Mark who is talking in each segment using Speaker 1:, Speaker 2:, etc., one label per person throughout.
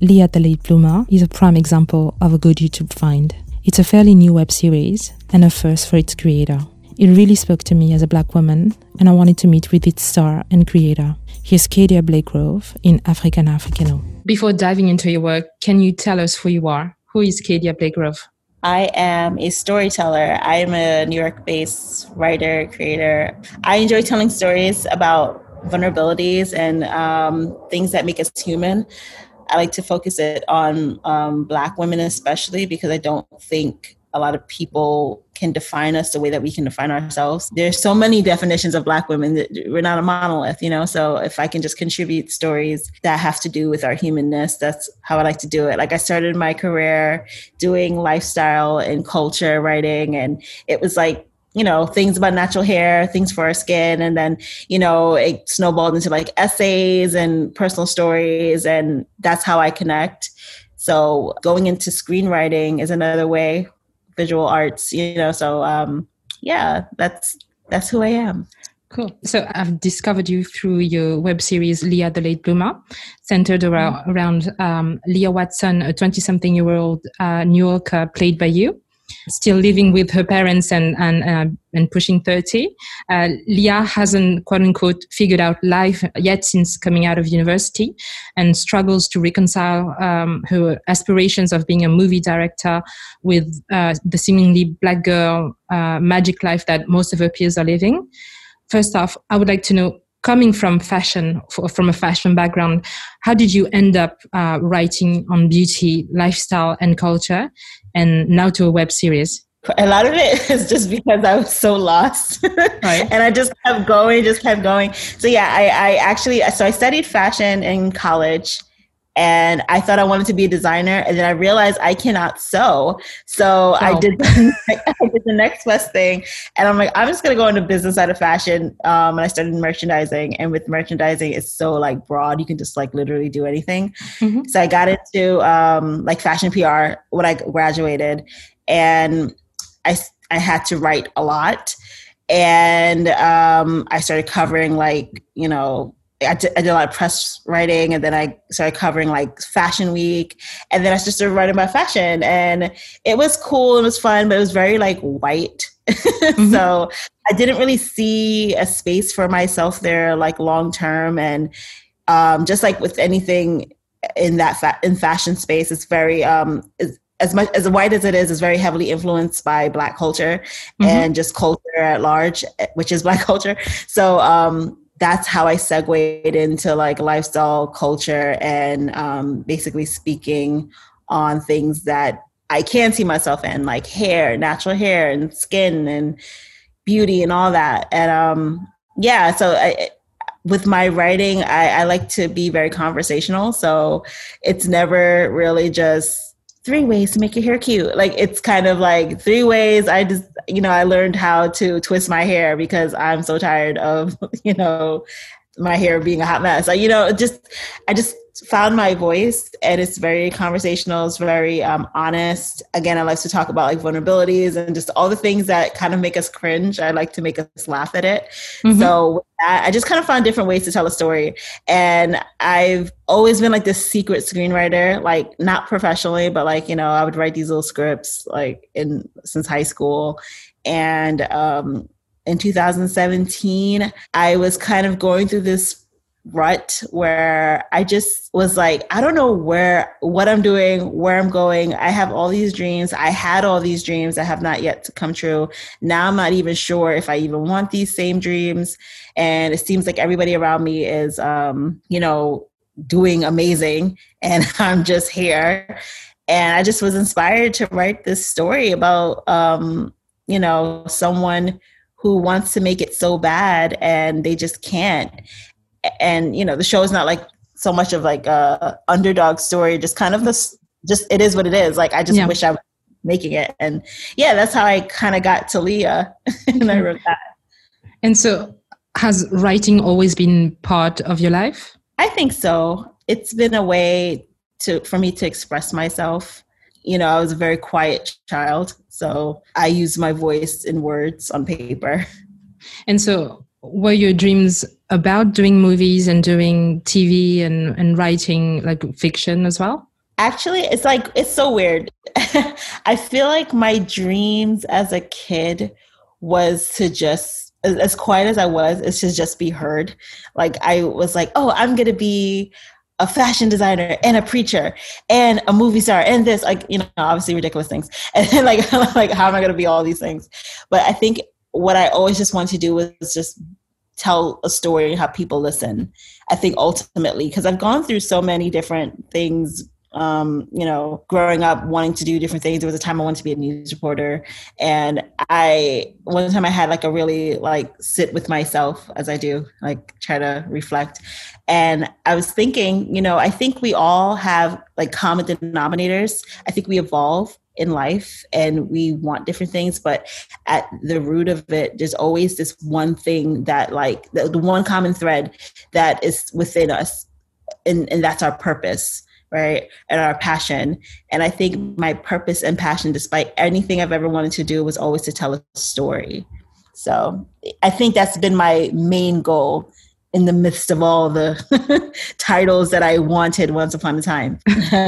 Speaker 1: Leah the Late Bloomer is a prime example of a good YouTube find. It's a fairly new web series and a first for its creator. It really spoke to me as a Black woman, and I wanted to meet with its star and creator. Here's Kadia Blakegrove in African Africano. Before diving into your work, can you tell us who you are? Who is Kadia Blakegrove?
Speaker 2: I am a storyteller. I am a New York-based writer, creator. I enjoy telling stories about vulnerabilities and things that make us human. I like to focus it on Black women especially, because I don't think a lot of people can define us the way that we can define ourselves. There's so many definitions of Black women that we're not a monolith, So if I can just contribute stories that have to do with our humanness, that's how I like to do it. Like I started my career doing lifestyle and culture writing, and it was like, things about natural hair, things for our skin. And then, it snowballed into like essays and personal stories. And that's how I connect. So going into screenwriting is another way, visual arts, so that's who I am.
Speaker 1: Cool. So I've discovered you through your web series, Leah the Late Bloomer, centered around Leah Watson, a 20-something-year-old New Yorker played by you, still living with her parents and pushing 30. Leah hasn't, quote unquote, figured out life yet since coming out of university, and struggles to reconcile her aspirations of being a movie director with the seemingly Black girl magic life that most of her peers are living. First off, I would like to know, coming from fashion, from a fashion background, how did you end up writing on beauty, lifestyle, and culture, and now to a web series?
Speaker 2: A lot of it is just because I was so lost. Right. And I just kept going. So yeah, I studied fashion in college, and I thought I wanted to be a designer. And then I realized I cannot sew. So I did the next best thing. And I'm like, I'm just going to go into business out of fashion. And I started merchandising. And with merchandising, it's so like broad. You can just like literally do anything. Mm-hmm. So I got into like fashion PR when I graduated. And I had to write a lot. And I started covering like, I did a lot of press writing, and then I started covering like Fashion Week, and then I just started writing about fashion, and it was cool. It was fun, but it was very like white. Mm-hmm. So I didn't really see a space for myself there, like long term. And just like with anything in that in fashion space, it's very as much as white as it is very heavily influenced by Black culture, mm-hmm. and just culture at large, which is Black culture. So that's how I segued into like lifestyle culture and basically speaking on things that I can see myself in, like hair, natural hair and skin and beauty and all that. And with my writing, I like to be very conversational. So it's never really just 3 ways to make your hair cute. Like it's kind of like 3 ways. I just, I learned how to twist my hair because I'm so tired of, my hair being a hot mess. I just found my voice, and it's very conversational. It's very honest. Again, I like to talk about like vulnerabilities and just all the things that kind of make us cringe. I like to make us laugh at it. Mm-hmm. So with that, I just kind of found different ways to tell a story. And I've always been like this secret screenwriter, like not professionally, but like, I would write these little scripts like since high school. And in 2017, I was kind of going through this rut where I just was like, I don't know what I'm doing, where I'm going. I have all these dreams. I had all these dreams that have not yet to come true. Now I'm not even sure if I even want these same dreams. And it seems like everybody around me is, doing amazing, and I'm just here. And I just was inspired to write this story about, someone who wants to make it so bad and they just can't. And, the show is not like so much of like a underdog story, just kind of it is what it is. Like, I just wish I was making it. And that's how I kind of got to Leah and I wrote that.
Speaker 1: And so has writing always been part of your life?
Speaker 2: I think so. It's been a way for me to express myself. I was a very quiet child, so I used my voice in words on paper.
Speaker 1: And so were your dreams about doing movies and doing TV and writing like fiction as well?
Speaker 2: Actually, it's so weird. I feel like my dreams as a kid was to just, as quiet as I was, it's to just be heard. Like I was like, oh, I'm going to be a fashion designer and a preacher and a movie star and this, like, obviously ridiculous things. And then like, how am I going to be all these things? But I think what I always just wanted to do was just tell a story and have people listen. I think ultimately, because I've gone through so many different things, growing up wanting to do different things. There was a time I wanted to be a news reporter. And one time I had like a really like sit with myself, as I do, like try to reflect. And I was thinking, I think we all have like common denominators. I think we evolve in life and we want different things, but at the root of it, there's always this one thing that like the one common thread that is within us. And that's our purpose, right? And our passion. And I think my purpose and passion, despite anything I've ever wanted to do, was always to tell a story. So I think that's been my main goal in the midst of all the titles that I wanted once upon a time.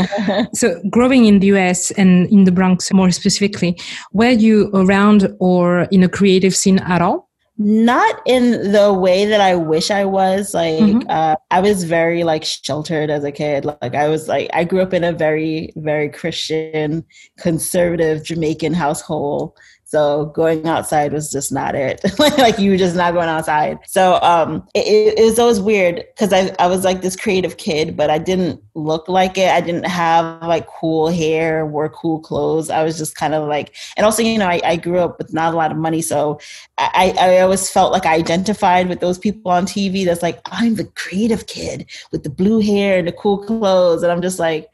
Speaker 1: So growing in the US and in the Bronx more specifically, were you around or in a creative scene at all?
Speaker 2: Not in the way that I wish I was. Like, I was very like sheltered as a kid. Like I grew up in a very, very Christian, conservative Jamaican household. So going outside was just not it. Like you were just not going outside. So it was always weird because I was like this creative kid, but I didn't look like it. I didn't have like cool hair, wore cool clothes. I was just kind of like, and also, I grew up with not a lot of money. So I always felt like I identified with those people on TV that's like, I'm the creative kid with the blue hair and the cool clothes. And I'm just like,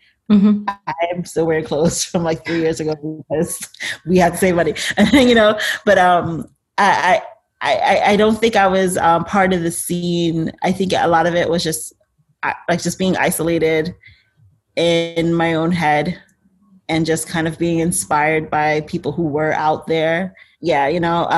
Speaker 2: I'm still wearing clothes from like 3 years ago because we had to save money, but I don't think I was part of the scene. I think a lot of it was just being isolated in my own head and just kind of being inspired by people who were out there. Yeah.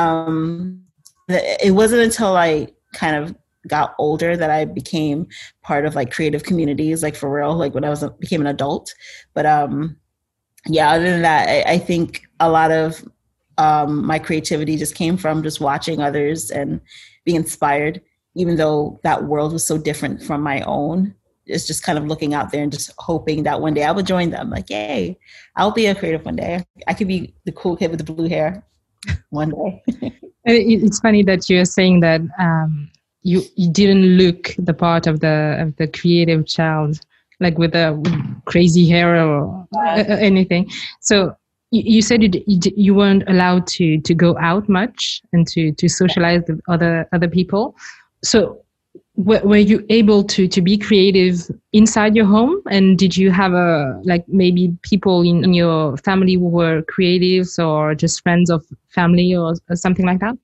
Speaker 2: It wasn't until I kind of got older that I became part of like creative communities, like for real, like when I became an adult. But other than that, I think a lot of my creativity just came from just watching others and being inspired, even though that world was so different from my own. It's just kind of looking out there and just hoping that one day I would join them. Like, yay, I'll be a creative one day. I could be the cool kid with the blue hair one day.
Speaker 1: It's funny that you're saying that you didn't look the part of the creative child, like with crazy hair or anything. So you said you weren't allowed to go out much and to socialize with other people. So were you able to be creative inside your home? And did you have maybe people in your family who were creatives or just friends of family or something like that?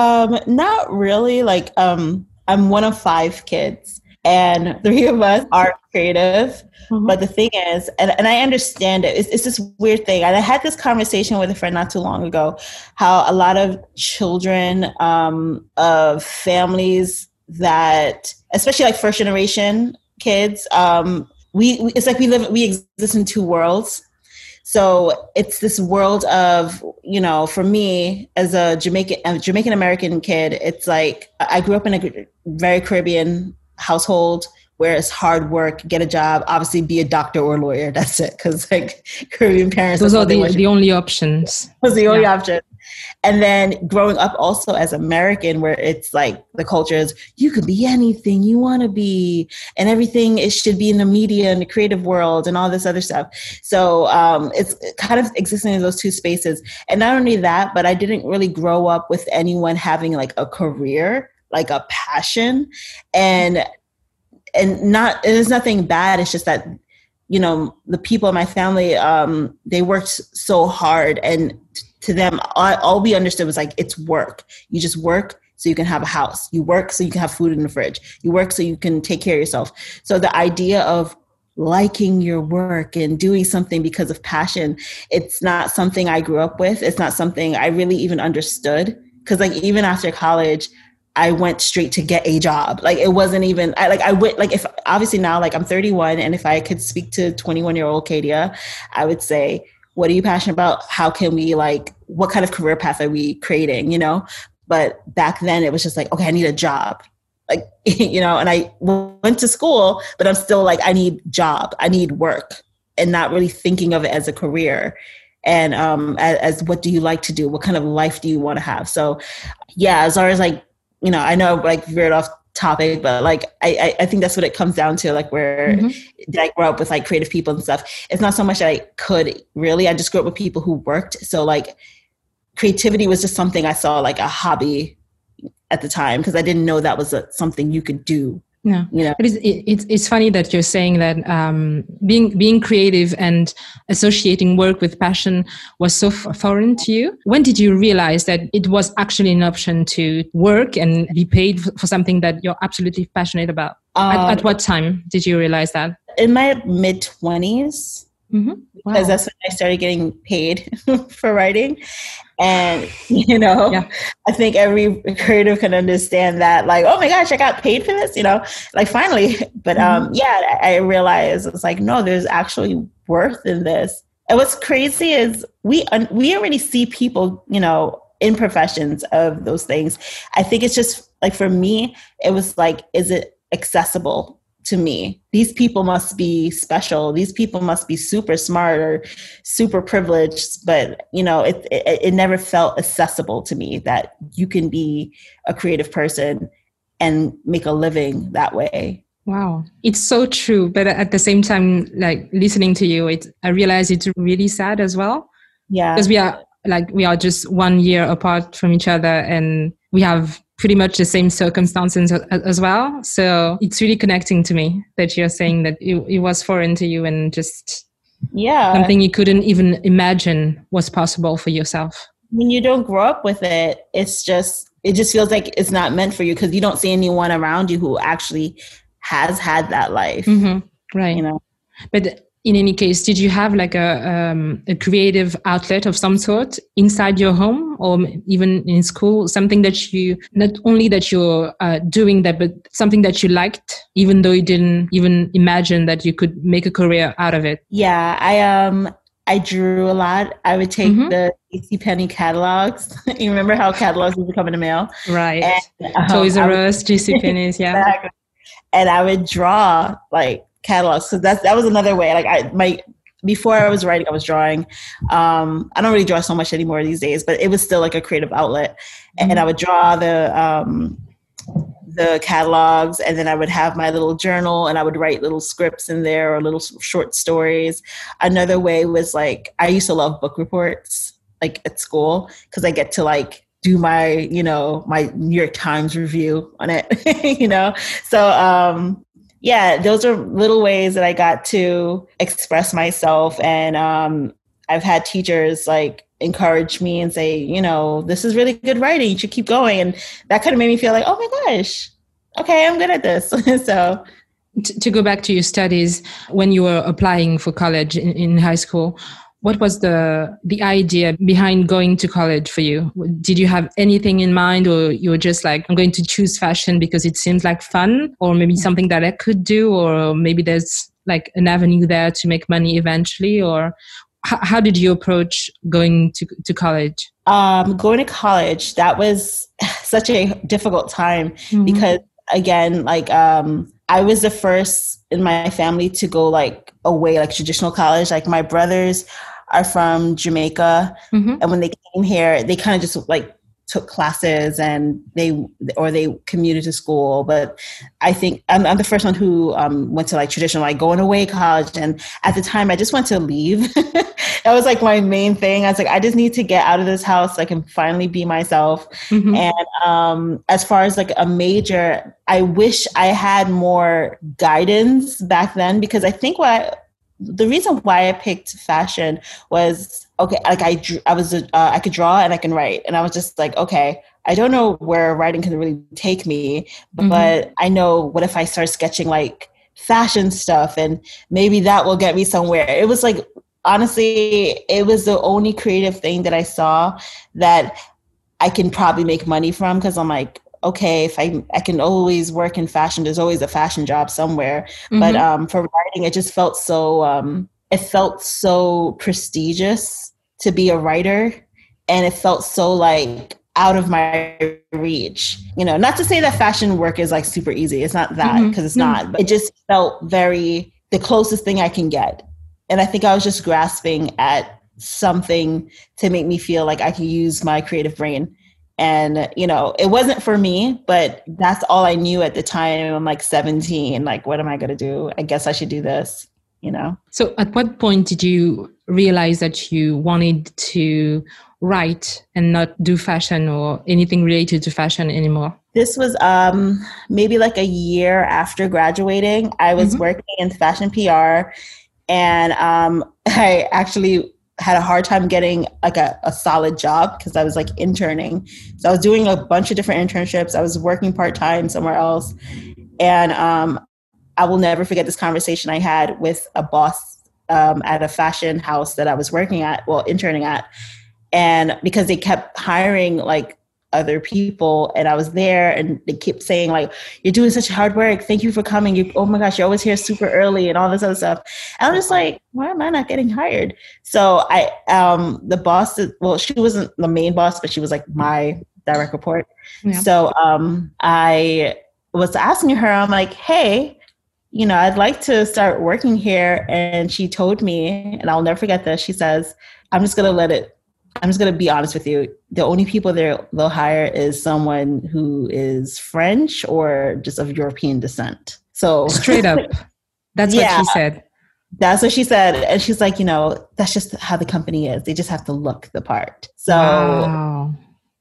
Speaker 2: Not really. Like, I'm one of 5 kids and 3 of us are creative. But the thing is, and I understand it, it's this weird thing. And I had this conversation with a friend not too long ago, how a lot of children of families that, especially like first generation kids, it's like we exist in 2 worlds. So it's this world of, for me as a Jamaican American kid, it's like I grew up in a very Caribbean household where it's hard work, get a job, obviously be a doctor or a lawyer. That's it. Because like Caribbean parents,
Speaker 1: those are the only options.
Speaker 2: Was the only option. And then growing up also as American, where it's like the culture is you can be anything you want to be, and everything it should be in the media and the creative world and all this other stuff. So it's kind of existing in those 2 spaces. And not only that, but I didn't really grow up with anyone having like a career, like a passion, and it's nothing bad. It's just that, the people in my family, they worked so hard, and to them, all we understood was like, it's work. You just work so you can have a house. You work so you can have food in the fridge. You work so you can take care of yourself. So the idea of liking your work and doing something because of passion, it's not something I grew up with. It's not something I really even understood. Because like even after college, I went straight to get a job. Like it wasn't even, I went, like if obviously now like I'm 31 and if I could speak to 21-year-old Kadia, I would say, what are you passionate about? How can we like, what kind of career path are we creating, you know? But back then it was just like, okay, I need a job. Like, you know, and I went to school, but I'm still like, I need job, I need work, and not really thinking of it as a career. And as what do you like to do? What kind of life do you want to have? So yeah, as far as like, you know, I know like veered off topic, but like, I think that's what it comes down to. Like where did I grow up with like creative people and stuff? It's not so much that I could really, I just grew up with people who worked. So like creativity was just something I saw like a hobby at the time, because I didn't know that was something you could do.
Speaker 1: Yeah,
Speaker 2: you know?
Speaker 1: It's funny that you're saying that being creative and associating work with passion was so foreign to you. When did you realize that it was actually an option to work and be paid for something that you're absolutely passionate about? At what time did you realize that?
Speaker 2: In my mid-20s.
Speaker 1: Mm-hmm. Wow.
Speaker 2: Because that's when I started getting paid for writing. And, you know, I think every creative can understand that, like, oh my gosh, I got paid for this, you know, like finally. But I realized it's like, no, there's actually worth in this. And what's crazy is we already see people, you know, in professions of those things. I think it's just like, for me, it was like, is it accessible to me? These people must be special. These people must be super smart or super privileged. But, you know, it never felt accessible to me that you can be a creative person and make a living that way.
Speaker 1: Wow. It's so true. But at the same time, like listening to you, I realize it's really sad as well.
Speaker 2: Yeah.
Speaker 1: Because we are just 1 year apart from each other, and we have pretty much the same circumstances as well. So it's really connecting to me that you're saying that it was foreign to you and just something you couldn't even imagine was possible for yourself.
Speaker 2: When you don't grow up with it, it just feels like it's not meant for you, because you don't see anyone around you who actually has had that life.
Speaker 1: Mm-hmm. Right.
Speaker 2: You know,
Speaker 1: but in any case, did you have like a creative outlet of some sort inside your home or even in school? Something that you, not only that you're doing that, but something that you liked, even though you didn't even imagine that you could make a career out of it?
Speaker 2: Yeah, I drew a lot. I would take the JCPenney catalogs. You remember how catalogs would come in the mail?
Speaker 1: Right. And, Toys R Us, JCPenney's, yeah.
Speaker 2: Exactly. And I would draw like catalogs. So that was another way. Like before I was writing, I was drawing. I don't really draw so much anymore these days, but it was still like a creative outlet. And I would draw the catalogs, and then I would have my little journal, and I would write little scripts in there or little short stories. Another way was like, I used to love book reports like at school, because I get to like do my, you know, my New York Times review on it, you know? So, yeah, those are little ways that I got to express myself. And I've had teachers like encourage me and say, you know, this is really good writing, you should keep going. And that kind of made me feel like, oh my gosh, okay, I'm good at this. So
Speaker 1: to go back to your studies, when you were applying for college in high school, what was the idea behind going to college for you? Did you have anything in mind, or you were just like, I'm going to choose fashion because it seems like fun, or maybe something that I could do, or maybe there's like an avenue there to make money eventually? Or how did you approach going to college?
Speaker 2: Going to college, that was such a difficult time because, again, like I was the first in my family to go like away, like traditional college. Like my brothers are from Jamaica, and when they came here, they kind of just like took classes and they commuted to school. But I think I'm the first one who went to like traditional, like going away college. And at the time, I just wanted to leave. That was like my main thing. I was like, I just need to get out of this house so I can finally be myself. And as far as like a major, I wish I had more guidance back then, because I think the reason why I picked fashion was, okay, like I could draw and I can write. And I was just like, okay, I don't know where writing can really take me, but I know, what if I start sketching like fashion stuff, and maybe that will get me somewhere. It was like, honestly, it was the only creative thing that I saw that I can probably make money from, because I'm like, okay, if I can always work in fashion, there's always a fashion job somewhere. But for writing, it just felt so prestigious to be a writer, and it felt so like out of my reach. Not to say that fashion work is like super easy. It's not that, because it's not. But it just felt the closest thing I can get. And I think I was just grasping at something to make me feel like I could use my creative brain. And, it wasn't for me, but that's all I knew at the time. I'm like 17. Like, what am I going to do? I guess I should do this,
Speaker 1: So at what point did you realize that you wanted to write and not do fashion or anything related to fashion anymore?
Speaker 2: This was maybe like a year after graduating. I was working in fashion PR, and I actually had a hard time getting like a solid job because I was like interning. So I was doing a bunch of different internships. I was working part-time somewhere else. And I will never forget this conversation I had with a boss at a fashion house that I was interning at. And because they kept hiring like other people, and I was there, and they kept saying like, you're doing such hard work. Thank you for coming. Oh my gosh, you're always here super early and all this other stuff. And I'm just like, why am I not getting hired? So the boss, she wasn't the main boss, but she was like my direct report. Yeah. So I was asking her, I'm like, hey, I'd like to start working here. And she told me, and I'll never forget this, she says, I'm just going to be honest with you. The only people they'll hire is someone who is French or just of European descent. So
Speaker 1: straight up, that's what she said.
Speaker 2: That's what she said. And she's like, that's just how the company is. They just have to look the part. So,
Speaker 1: wow.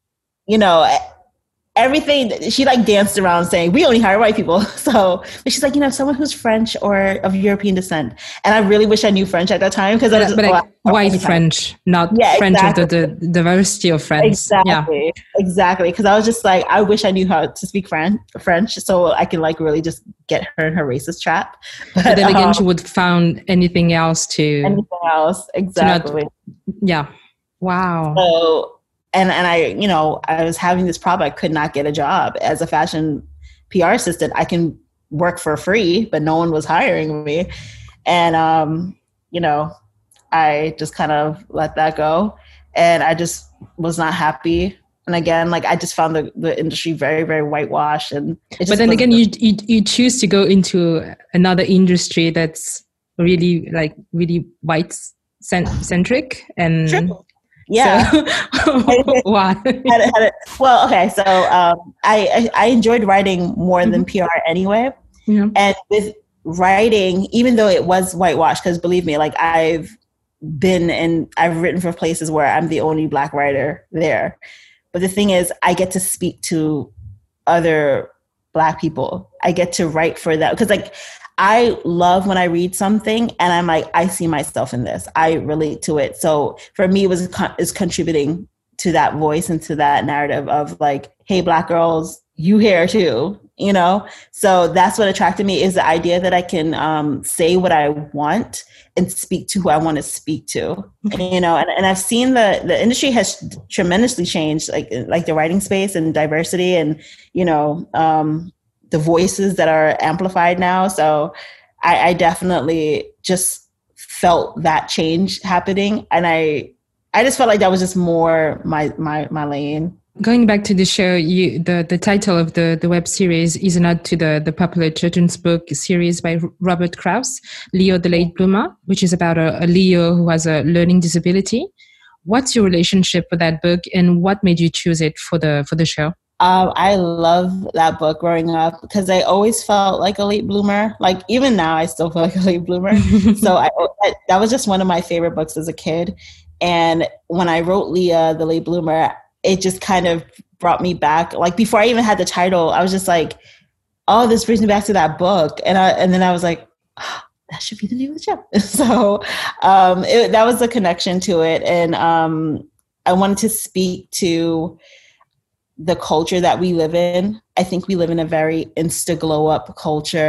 Speaker 2: Everything, she like danced around saying, we only hire white people. So, but she's like, someone who's French or of European descent. And I really wish I knew French at that time, because I was
Speaker 1: white French, not French of the diversity of French.
Speaker 2: Exactly. Because I was just like, I wish I knew how to speak French so I can like really just get her in her racist trap.
Speaker 1: But then again, she would found anything else.
Speaker 2: Exactly.
Speaker 1: Yeah. Wow.
Speaker 2: So, and I was having this problem. I could not get a job as a fashion PR assistant. I can work for free, but no one was hiring me. And, I just kind of let that go, and I just was not happy. And again, like I just found the industry very, very whitewashed. But
Speaker 1: then again, you choose to go into another industry that's really white centric and.
Speaker 2: True. Yeah.
Speaker 1: So, why?
Speaker 2: Well, okay. So I enjoyed writing more than PR anyway. Yeah. And with writing, even though it was whitewashed, because believe me, like I've written for places where I'm the only Black writer there. But the thing is, I get to speak to other Black people. I get to write for them. Because like, I love when I read something and I'm like, I see myself in this. I relate to it. So for me, is contributing to that voice and to that narrative of like, hey, Black girls, you here too, So that's what attracted me, is the idea that I can say what I want and speak to who I want to speak to, and I've seen the industry has tremendously changed, like the writing space and diversity and, the voices that are amplified now. So I definitely just felt that change happening. And I just felt like that was just more my lane.
Speaker 1: Going back to the show, the title of the web series is a nod to the popular children's book series by Robert Krauss, Leo the Late Bloomer, which is about a Leo who has a learning disability. What's your relationship with that book, and what made you choose it for the show?
Speaker 2: I love that book growing up because I always felt like a late bloomer. Like even now, I still feel like a late bloomer. So that was just one of my favorite books as a kid. And when I wrote Leah, the Late Bloomer, it just kind of brought me back. Like before I even had the title, I was just like, oh, this brings me back to that book. And then I was like, oh, that should be the name of the show. So that was the connection to it. And I wanted to speak to the culture that we live in. I think we live in a very insta glow up culture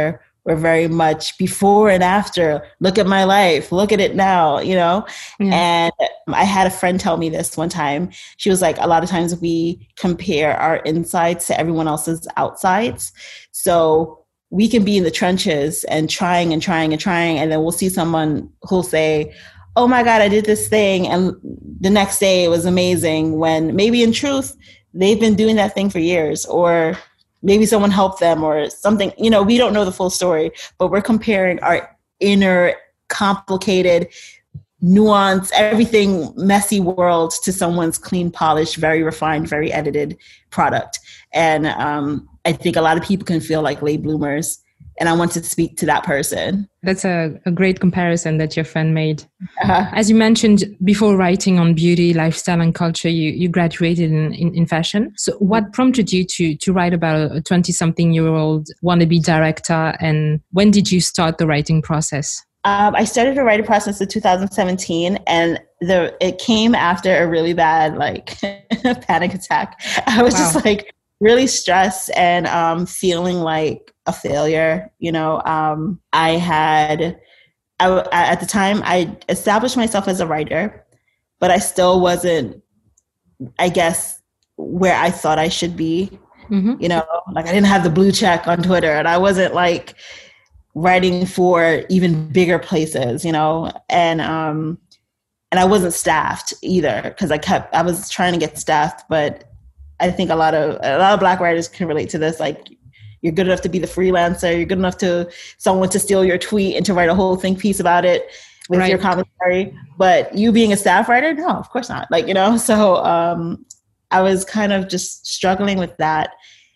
Speaker 2: were very much before and after. Look at my life. Look at it now, you know? Yeah. And I had a friend tell me this one time. She was like, a lot of times we compare our insides to everyone else's outsides. So we can be in the trenches and trying. And then we'll see someone who'll say, oh my God, I did this thing. And the next day it was amazing, when maybe in truth, they've been doing that thing for years, or maybe someone helped them or something. You know, we don't know the full story, but we're comparing our inner, complicated, nuanced, everything messy world to someone's clean, polished, very refined, very edited product. And I think a lot of people can feel like late bloomers. And I want to speak to that person.
Speaker 1: That's a great comparison that your friend made. As you mentioned, before writing on beauty, lifestyle, and culture, you graduated in fashion. So what prompted you to write about a 20-something-year-old wannabe director? And when did you start the writing process?
Speaker 2: I started the writing process in 2017, and it came after a really bad panic attack. I was just really stressed and feeling like a failure. You know, at the time I established myself as a writer, but I still wasn't, I guess, where I thought I should be. Mm-hmm. You know, like I didn't have the blue check on Twitter, and I wasn't like writing for even bigger places, you know, and I wasn't staffed either, because I was trying to get staffed, but I think a lot of Black writers can relate to this. Like, you're good enough to be the freelancer. You're good enough to someone to steal your tweet and to write a whole think piece about it with your commentary. But you being a staff writer, no, of course not. Like, you know, so I was kind of just struggling with that.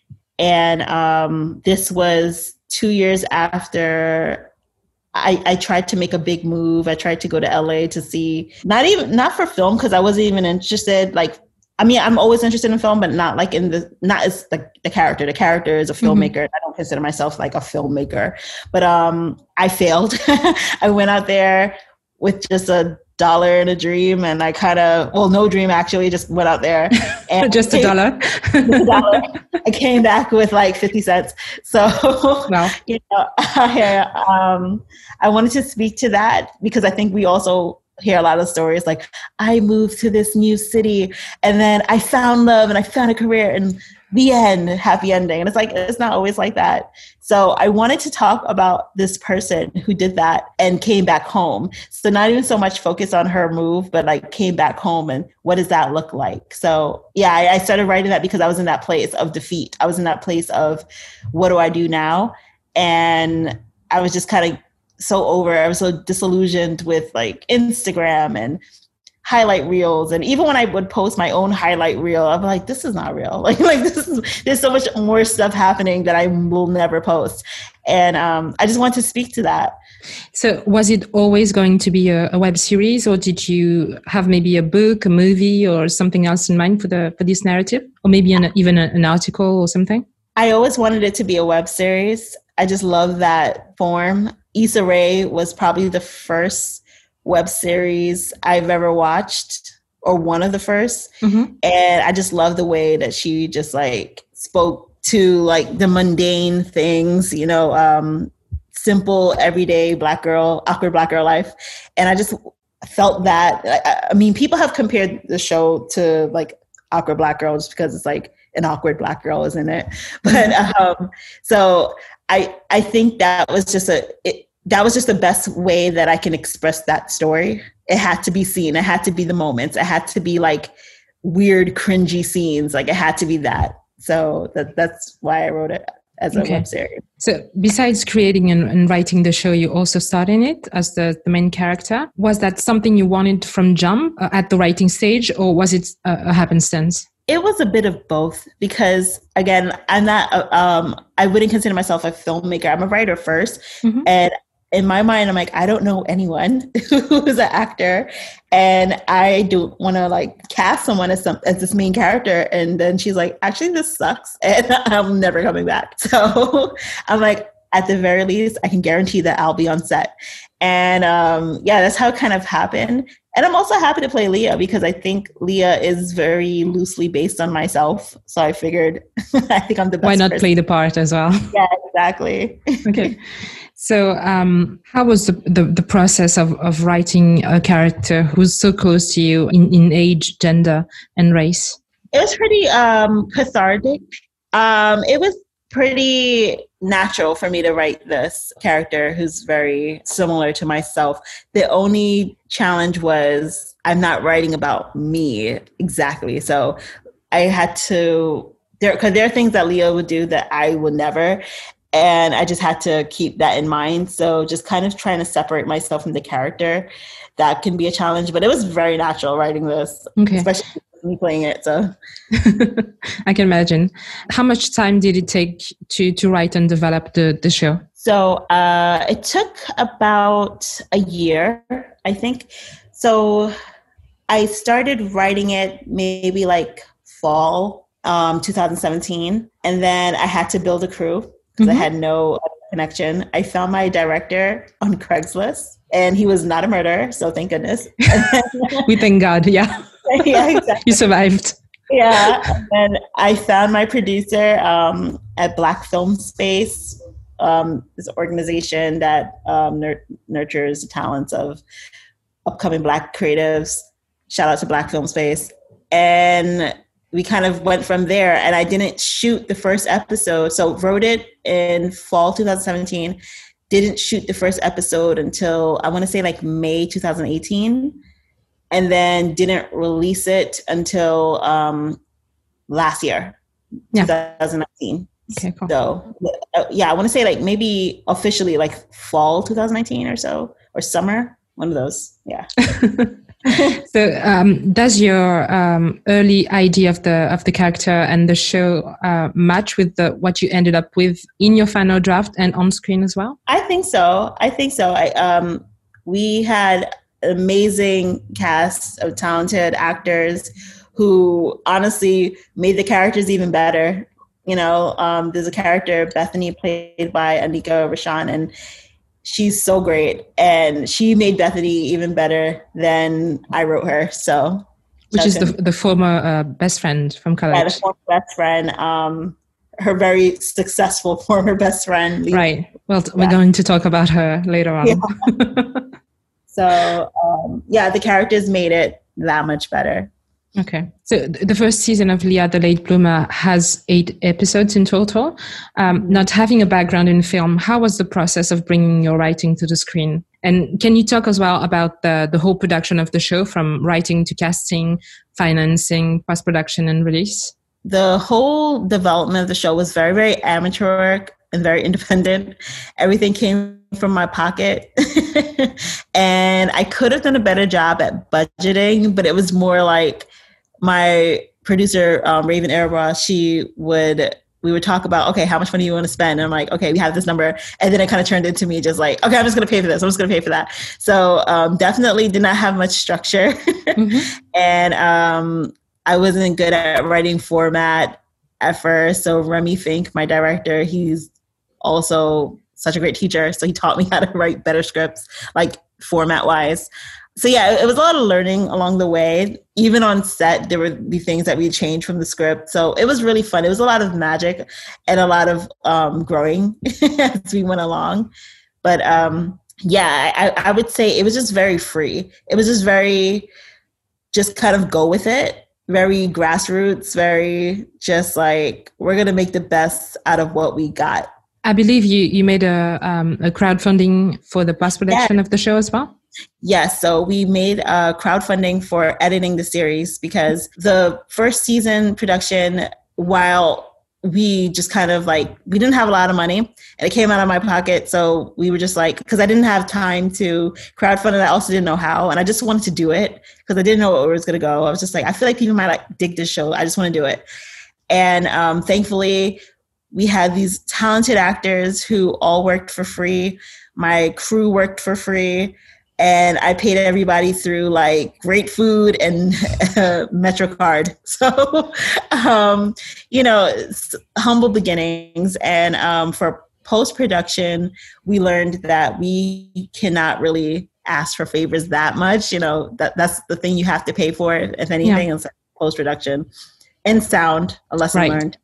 Speaker 2: And this was 2 years after I tried to make a big move. I tried to go to LA to see, not for film, because I wasn't even interested. Like, I mean, I'm always interested in film, but not as like the character. The character is a filmmaker. Mm-hmm. I don't consider myself like a filmmaker, but I failed. I went out there with just $1 and a dream, and I no dream actually, just went out there and
Speaker 1: just $1.
Speaker 2: $1. I came back with like 50 cents. So, wow. You know, I wanted to speak to that, because I think we also hear a lot of stories like, I moved to this new city and then I found love and I found a career, and the end, happy ending. And it's like, it's not always like that. So I wanted to talk about this person who did that and came back home. So not even so much focus on her move, but like came back home, and what does that look like? So yeah, I started writing that because I was in that place of defeat. I was in that place of, what do I do now? And I was just kind of I was so disillusioned with like Instagram and highlight reels. And even when I would post my own highlight reel, I'm like, this is not real. There's so much more stuff happening that I will never post. And I just want to speak to that.
Speaker 1: So was it always going to be a web series, or did you have maybe a book, a movie, or something else in mind for this narrative? Or maybe even an article or something?
Speaker 2: I always wanted it to be a web series. I just love that form. Issa Rae was probably the first web series I've ever watched, or one of the first. Mm-hmm. And I just love the way that she just like spoke to like the mundane things, you know, simple, everyday awkward Black girl life. And I just felt that, I mean, people have compared the show to like Awkward Black Girl just because it's like an awkward Black girl, isn't it? But so I think that was just the best way that I can express that story. It had to be seen. It had to be the moments. It had to be like weird, cringy scenes. Like, it had to be that. So that's why I wrote it as a web series.
Speaker 1: So besides creating and writing the show, you also starred in it as the main character. Was that something you wanted from jump at the writing stage, or was it a happenstance?
Speaker 2: It was a bit of both, because again, I'm not, I wouldn't consider myself a filmmaker. I'm a writer first. Mm-hmm. And in my mind, I'm like, I don't know anyone who's an actor, and I don't want to like cast someone as this main character. And then she's like, actually, this sucks, and I'm never coming back. So I'm like, at the very least, I can guarantee that I'll be on set. And that's how it kind of happened. And I'm also happy to play Leah, because I think Leah is very loosely based on myself. So I figured I think I'm the best.
Speaker 1: Why not
Speaker 2: person.
Speaker 1: Play the part as well?
Speaker 2: Yeah, exactly.
Speaker 1: Okay. So how was the process of writing a character who's so close to you in age, gender, and race?
Speaker 2: It was pretty cathartic. It was pretty natural for me to write this character who's very similar to myself. The only challenge was I'm not writing about me exactly. So I had to, because there are things that Leo would do that I would never. And I just had to keep that in mind. So just kind of trying to separate myself from the character, that can be a challenge. But it was very natural writing this, especially me playing it. So
Speaker 1: I can imagine. How much time did it take to write and develop the show?
Speaker 2: So it took about a year, I think. So I started writing it maybe like fall 2017. And then I had to build a crew because I had no connection. I found my director on Craigslist and he was not a murderer. So thank goodness.
Speaker 1: We thank God. Yeah.
Speaker 2: Yeah, exactly.
Speaker 1: You survived.
Speaker 2: Yeah. And I found my producer at Black Film Space, this organization that nurtures the talents of upcoming Black creatives. Shout out to Black Film Space. And we kind of went from there, and I didn't shoot the first episode. So wrote it in fall 2017, didn't shoot the first episode until I want to say like May 2018, and then didn't release it until last year, 2019.
Speaker 1: Okay, cool.
Speaker 2: So I want to say like maybe officially like fall 2019 or so, or summer, one of those. Yeah.
Speaker 1: So does your early idea of the character and the show match with what you ended up with in your final draft and on screen as well?
Speaker 2: I think so. We had an amazing cast of talented actors who honestly made the characters even better. You know, there's a character, Bethany, played by Anika Rashan, and she's so great, and she made Bethany even better than I wrote her. So,
Speaker 1: which is the former best friend from college.
Speaker 2: Yeah, the former best friend. Her very successful former best friend.
Speaker 1: Right. Well, we're going to talk about her later on.
Speaker 2: Yeah. So, the characters made it that much better.
Speaker 1: Okay. So the first season of Leah the Late Bloomer has 8 episodes in total. Not having a background in film, how was the process of bringing your writing to the screen? And can you talk as well about the whole production of the show, from writing to casting, financing, post-production, and release?
Speaker 2: The whole development of the show was very, very amateur and very independent. Everything came from my pocket. And I could have done a better job at budgeting, but it was more like my producer, Raven Arabra, we would talk about, okay, how much money you want to spend? And I'm like, okay, we have this number. And then it kind of turned into me just like, okay, I'm just going to pay for this. I'm just going to pay for that. So definitely did not have much structure. And I wasn't good at writing format at first. So Remy Fink, my director, he's also such a great teacher. So he taught me how to write better scripts, like format wise. So yeah, it was a lot of learning along the way. Even on set, there would be things that we changed from the script. So it was really fun. It was a lot of magic and a lot of growing as we went along. But I would say it was just very free. It was just kind of go with it. Very grassroots, very just like, we're going to make the best out of what we got.
Speaker 1: I believe you made a crowdfunding for the post-production of the show as well?
Speaker 2: Yes. So we made crowdfunding for editing the series, because the first season production, while we just kind of like, we didn't have a lot of money and it came out of my pocket. So we were just like, because I didn't have time to crowdfund and I also didn't know how. And I just wanted to do it because I didn't know where it was going to go. I was just like, I feel like people might like dig this show. I just want to do it. And thankfully, we had these talented actors who all worked for free. My crew worked for free. And I paid everybody through like great food and MetroCard. So, humble beginnings. And for post-production, we learned that we cannot really ask for favors that much. You know, that's the thing you have to pay for, if anything, in post-production. and sound, a lesson
Speaker 1: right.
Speaker 2: learned.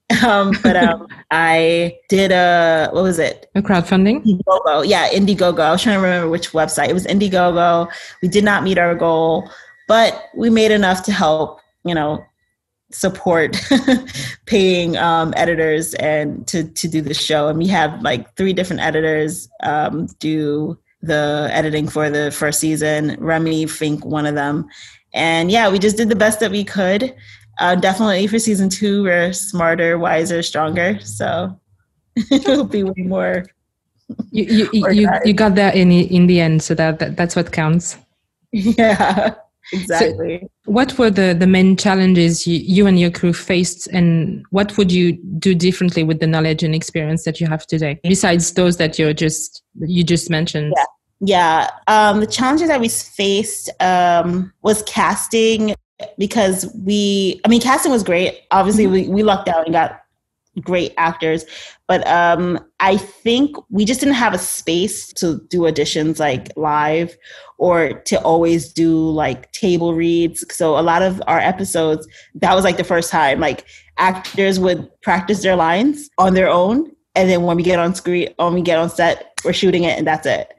Speaker 2: I did what was it?
Speaker 1: A crowdfunding?
Speaker 2: Indiegogo. Yeah, Indiegogo. I was trying to remember which website. It was Indiegogo. We did not meet our goal, but we made enough to help, support paying editors and to do the show. And we have like 3 different editors do the editing for the first season. Remy Fink, one of them. And yeah, we just did the best that we could. Definitely for season 2, we're smarter, wiser, stronger. So it'll be way more.
Speaker 1: You got there in the end, so that's what counts.
Speaker 2: Yeah, exactly.
Speaker 1: So what were the main challenges you and your crew faced, and what would you do differently with the knowledge and experience that you have today, besides those that you just mentioned?
Speaker 2: Yeah. The challenges that we faced was casting. Because casting was great. Obviously, we lucked out and got great actors. But I think we just didn't have a space to do auditions like live or to always do like table reads. So a lot of our episodes, that was like the first time, like actors would practice their lines on their own. And then when we get on set, we're shooting it and that's it,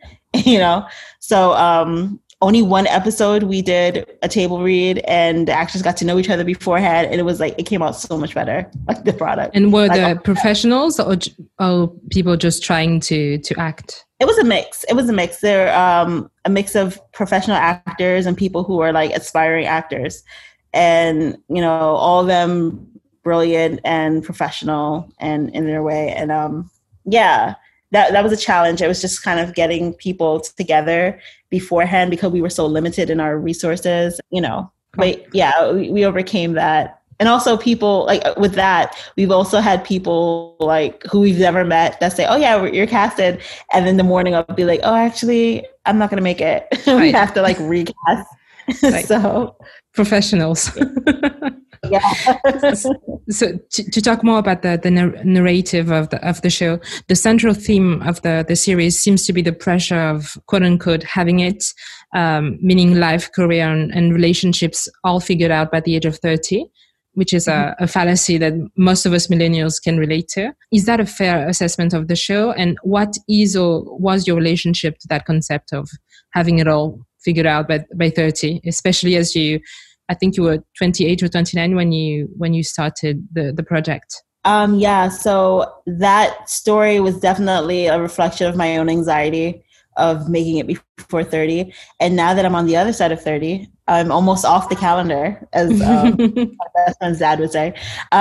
Speaker 2: So only one episode we did a table read and the actors got to know each other beforehand, and it was like it came out so much better, like the product.
Speaker 1: And were the professionals or people just trying to act?
Speaker 2: It was a mix. They're a mix of professional actors and people who are like aspiring actors, and all of them brilliant and professional and in their way. And that was a challenge. It was just kind of getting people together beforehand because we were so limited in our resources, But yeah, we overcame that. And also people like with that, we've also had people like who we've never met that say, "Oh yeah, you're casted," and then the morning I'll be like, "Oh, actually, I'm not going to make it." We have to like recast.
Speaker 1: Right.
Speaker 2: So
Speaker 1: professionals.
Speaker 2: Yeah.
Speaker 1: So to talk more about the narrative of the show, the central theme of the series seems to be the pressure of quote unquote having it, meaning life, career, and relationships all figured out by the age of 30, which is a fallacy that most of us millennials can relate to. Is that a fair assessment of the show? And what is or was your relationship to that concept of having it all figured out by 30, especially as I think you were 28 or 29 when you started the project.
Speaker 2: So that story was definitely a reflection of my own anxiety of making it before 30. And now that I'm on the other side of 30, I'm almost off the calendar, as my best friend's dad would say.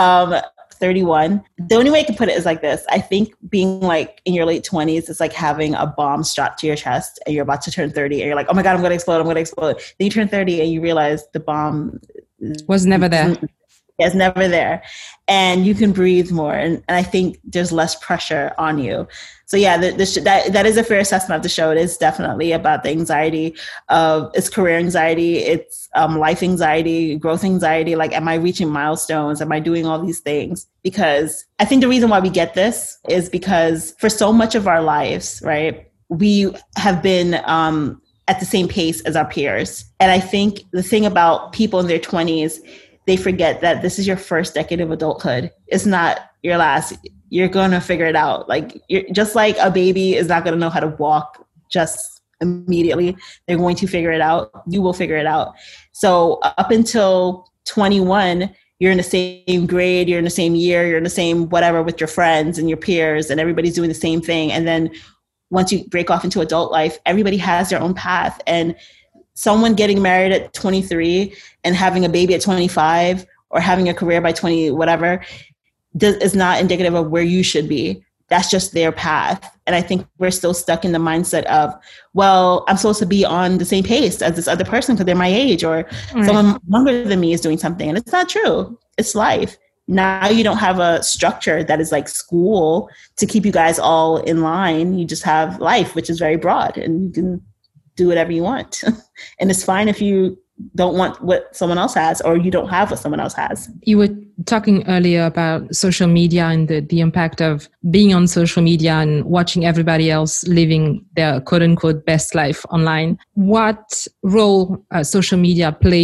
Speaker 2: 31. The only way I can put it is like this. I think being like in your late 20s, it's like having a bomb strapped to your chest and you're about to turn 30 and you're like, oh my God, I'm going to explode. Then you turn 30 and you realize the bomb
Speaker 1: was never there.
Speaker 2: It's never there. And you can breathe more. And I think there's less pressure on you. So yeah, that is a fair assessment of the show. It is definitely about the anxiety of it's career anxiety. It's life anxiety, growth anxiety. Like, am I reaching milestones? Am I doing all these things? Because I think the reason why we get this is because for so much of our lives, right, we have been at the same pace as our peers. And I think the thing about people in their 20s, they forget that this is your first decade of adulthood. It's not your last. You're going to figure it out. Like, you're just like a baby is not going to know how to walk just immediately. They're going to figure it out. You will figure it out. So up until 21, you're in the same grade, you're in the same year, you're in the same whatever with your friends and your peers, and everybody's doing the same thing. And then once you break off into adult life, everybody has their own path. And someone getting married at 23 and having a baby at 25 or having a career by 20, whatever, is not indicative of where you should be. That's just their path. And I think we're still stuck in the mindset of, well, I'm supposed to be on the same pace as this other person because they're my age, or someone younger than me is doing something. And it's not true. It's life. Now you don't have a structure that is like school to keep you guys all in line. You just have life, which is very broad, and you can do whatever you want. And it's fine if you don't want what someone else has, or you don't have what someone else has.
Speaker 1: You were talking earlier about social media and the impact of being on social media and watching everybody else living their quote unquote best life online. What role social media played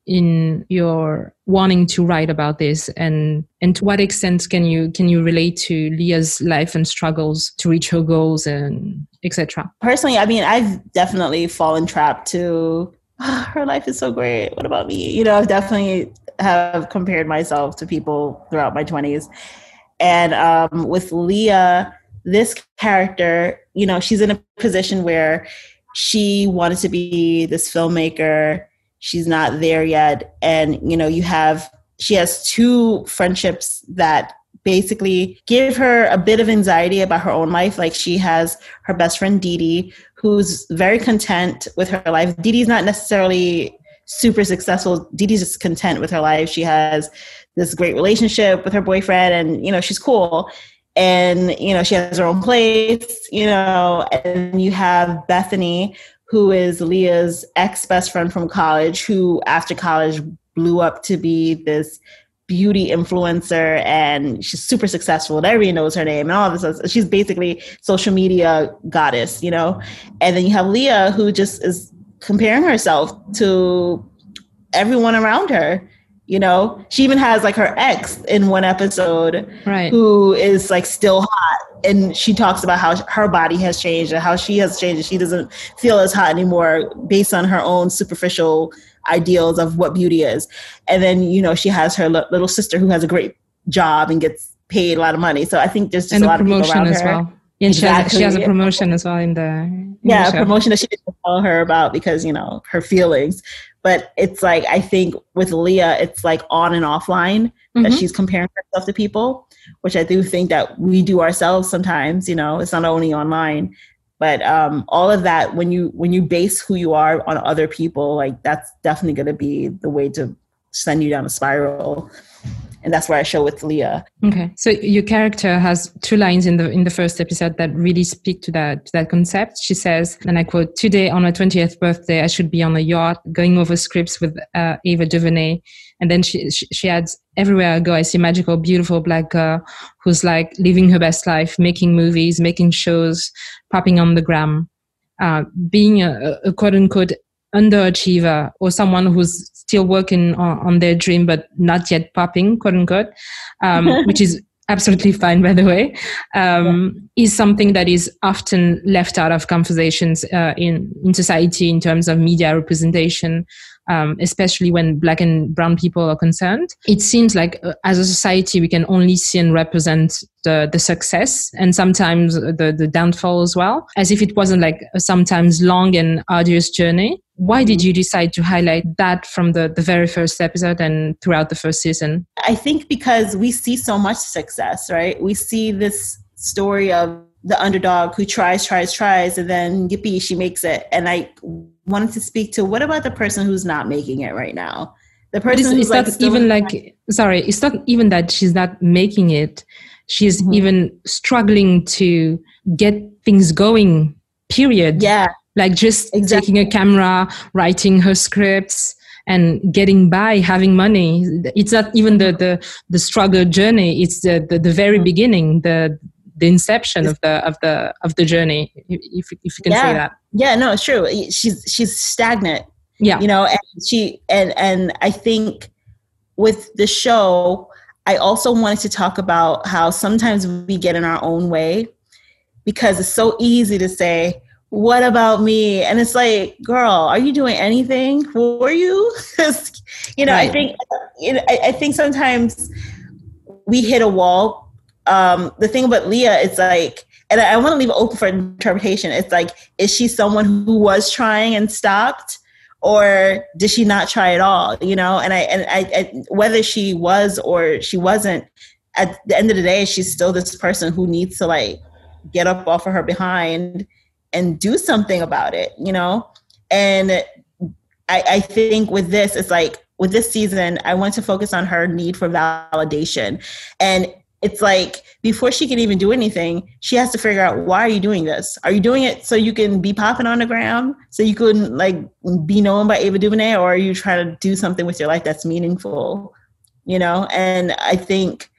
Speaker 1: in your wanting to write about this, and to what extent can you relate to Leah's life and struggles to reach her goals and etc.?
Speaker 2: Personally, I mean, I've definitely fallen trapped to her life is so great. What about me? You know, I've definitely have compared myself to people throughout my 20s. And with Leah, this character, you know, she's in a position where she wanted to be this filmmaker. She's not there yet. And, you know, she has two friendships that basically give her a bit of anxiety about her own life. Like she has her best friend, Dee Dee, who's very content with her life. Dee Dee's not necessarily super successful. Dee Dee's just content with her life. She has this great relationship with her boyfriend and, you know, she's cool. And, you know, she has her own place, you know, and you have Bethany, who is Leah's ex-best friend from college, who after college blew up to be this beauty influencer, and she's super successful and everybody knows her name and all this stuff. She's basically social media goddess, you know? And then you have Leah, who just is comparing herself to everyone around her. You know, she even has like her ex in one episode, right, who is like still hot. And she talks about how her body has changed and how she has changed. And she doesn't feel as hot anymore based on her own superficial ideals of what beauty is. And then, you know, she has her little sister who has a great job and gets paid a lot of money. So I think there's just a lot of people around her.
Speaker 1: Well. And exactly. She has a promotion as well in the
Speaker 2: a promotion that she didn't tell her about because, you know, her feelings. But it's like, I think with Leah, it's like on and offline that she's comparing herself to people, which I do think that we do ourselves sometimes, you know, it's not only online. But all of that, when you base who you are on other people, like that's definitely going to be the way to send you down a spiral. And that's where I show with Leah.
Speaker 1: Okay, so your character has two lines in the first episode that really speak to that concept. She says, and I quote, "Today on her 20th birthday, I should be on a yacht going over scripts with Ava DuVernay." And then she adds, "Everywhere I go, I see a magical, beautiful black girl who's like living her best life, making movies, making shows, popping on the gram, being a quote unquote underachiever or someone who's still working on their dream but not yet popping, quote unquote, which is absolutely fine, by the way, is something that is often left out of conversations in society in terms of media representation, especially when Black and brown people are concerned. It seems like as a society, we can only see and represent the success and sometimes the downfall as well, as if it wasn't like a sometimes long and arduous journey. Why did you decide to highlight that from the very first episode and throughout the first season?
Speaker 2: I think because we see so much success, right? We see this story of the underdog who tries, and then yippee, she makes it. And I wanted to speak to, what about the person who's not making it right now? The person who's like,
Speaker 1: it's not even that she's not making it. She's even struggling to get things going, period.
Speaker 2: Yeah.
Speaker 1: Like just taking a camera, writing her scripts and getting by, having money. It's not even the struggle journey. It's the very beginning, the inception of the journey, if you can say that.
Speaker 2: Yeah, no, it's true. She's stagnant. Yeah. You know, and I think with the show, I also wanted to talk about how sometimes we get in our own way because it's so easy to say, what about me? And it's like, girl, are you doing anything for you? Because, you know, right. I think sometimes we hit a wall. The thing about Leah, it's like, and I want to leave it open for interpretation. It's like, is she someone who was trying and stopped, or did she not try at all? You know, and I whether she was or she wasn't, at the end of the day, she's still this person who needs to like get up off of her behind and do something about it, you know? And I think with this, it's like, with this season, I want to focus on her need for validation. And it's like, before she can even do anything, she has to figure out, why are you doing this? Are you doing it so you can be popping on the ground? So you can like be known by Ava DuVernay? Or are you trying to do something with your life that's meaningful? You know? And I think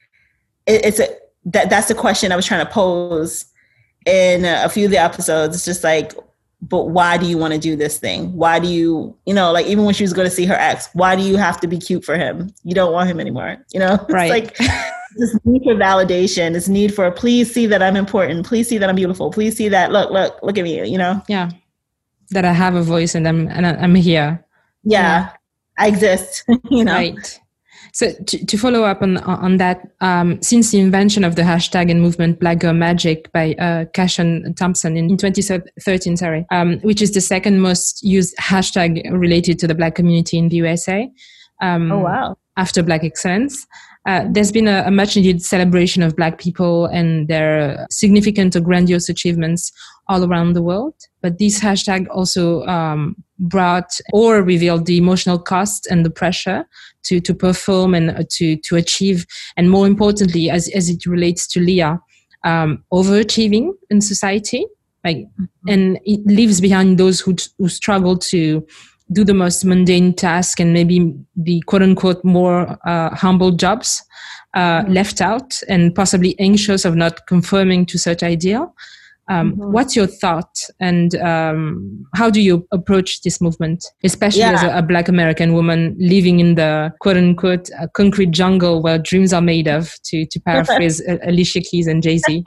Speaker 2: that's the question I was trying to pose in a few of the episodes. It's just like, but why do you want to do this thing? Why do you, like even when she was going to see her ex, why do you have to be cute for him? You don't want him anymore.
Speaker 1: Right.
Speaker 2: It's like this need for validation, this need for, please see that I'm important. Please see that I'm beautiful. Please see that, look at me,
Speaker 1: Yeah. That I have a voice and I'm here.
Speaker 2: Yeah. I exist,
Speaker 1: Right. So to follow up on that, since the invention of the hashtag and movement Black Girl Magic by Cashan Thompson in 2013, which is the second most used hashtag related to the Black community in the USA.
Speaker 2: Oh, wow.
Speaker 1: After Black Excellence. There's been a much needed celebration of Black people and their significant or grandiose achievements all around the world. But this hashtag also brought or revealed the emotional cost and the pressure to perform and to achieve. And more importantly, as it relates to Leah, overachieving in society. And it leaves behind those who struggle to do the most mundane task and maybe the quote unquote more humble jobs left out and possibly anxious of not conforming to such ideal. What's your thought and how do you approach this movement, especially as a Black American woman living in the quote unquote concrete jungle where dreams are made of, to paraphrase Alicia Keys and Jay-Z?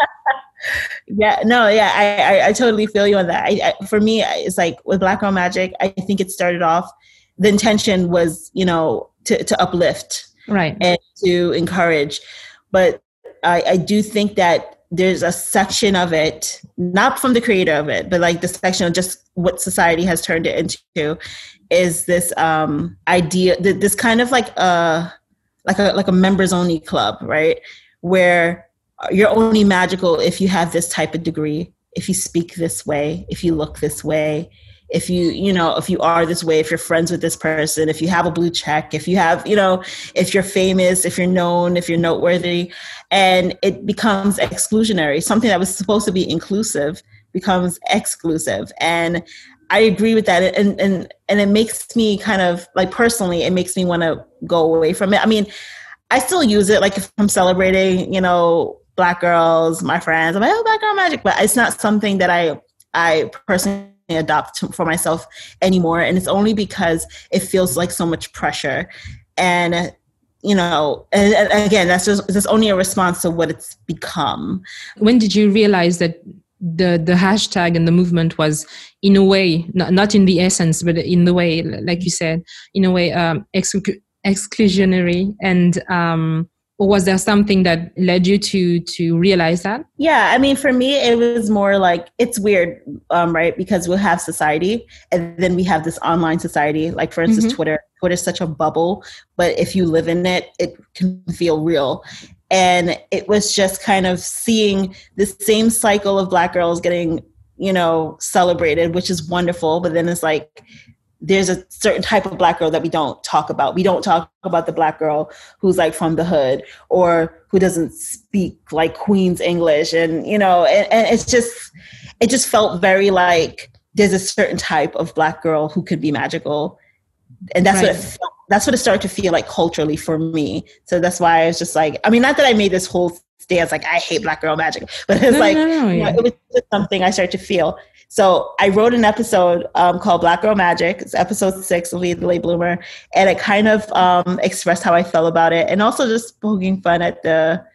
Speaker 2: I totally feel you on that. For me, it's like with Black Girl Magic, I think it started off, the intention was, to uplift,
Speaker 1: right,
Speaker 2: and to encourage. But I do think that there's a section of it, not from the creator of it, but like the section of just what society has turned it into, is this idea, this kind of like a members only club, right? Where you're only magical if you have this type of degree, if you speak this way, if you look this way, if you are this way, if you're friends with this person, if you have a blue check, if you have, if you're famous, if you're known, if you're noteworthy. And it becomes exclusionary. Something that was supposed to be inclusive becomes exclusive. And I agree with that. And it makes me kind of like, personally, it makes me want to go away from it. I mean, I still use it, like if I'm celebrating, Black girls, my friends, I'm like, oh, Black Girl Magic. But it's not something that I personally adopt for myself anymore. And it's only because it feels like so much pressure. And, and again, that's only a response to what it's become.
Speaker 1: When did you realize that the hashtag and the movement was, in a way, not in the essence, but in the way, like you said, in a way, exclusionary, and or was there something that led you to realize that?
Speaker 2: Yeah, I mean, for me, it was more like, it's weird, right? Because we'll have society and then we have this online society. Like, for instance, Twitter. Twitter is such a bubble, but if you live in it, it can feel real. And it was just kind of seeing the same cycle of Black girls getting, celebrated, which is wonderful. But then it's like, there's a certain type of Black girl that we don't talk about. We don't talk about the Black girl who's like from the hood or who doesn't speak like Queen's English. And, and it just felt very like there's a certain type of Black girl who could be magical. And that's right. That's what it started to feel like culturally for me. So that's why I was just like, I mean, not that I made this whole stance like I hate Black Girl Magic, but it's it was just something I started to feel. So I wrote an episode called Black Girl Magic. It's episode 6 of Leah the Late Bloomer. And it kind of expressed how I felt about it, and also just poking fun at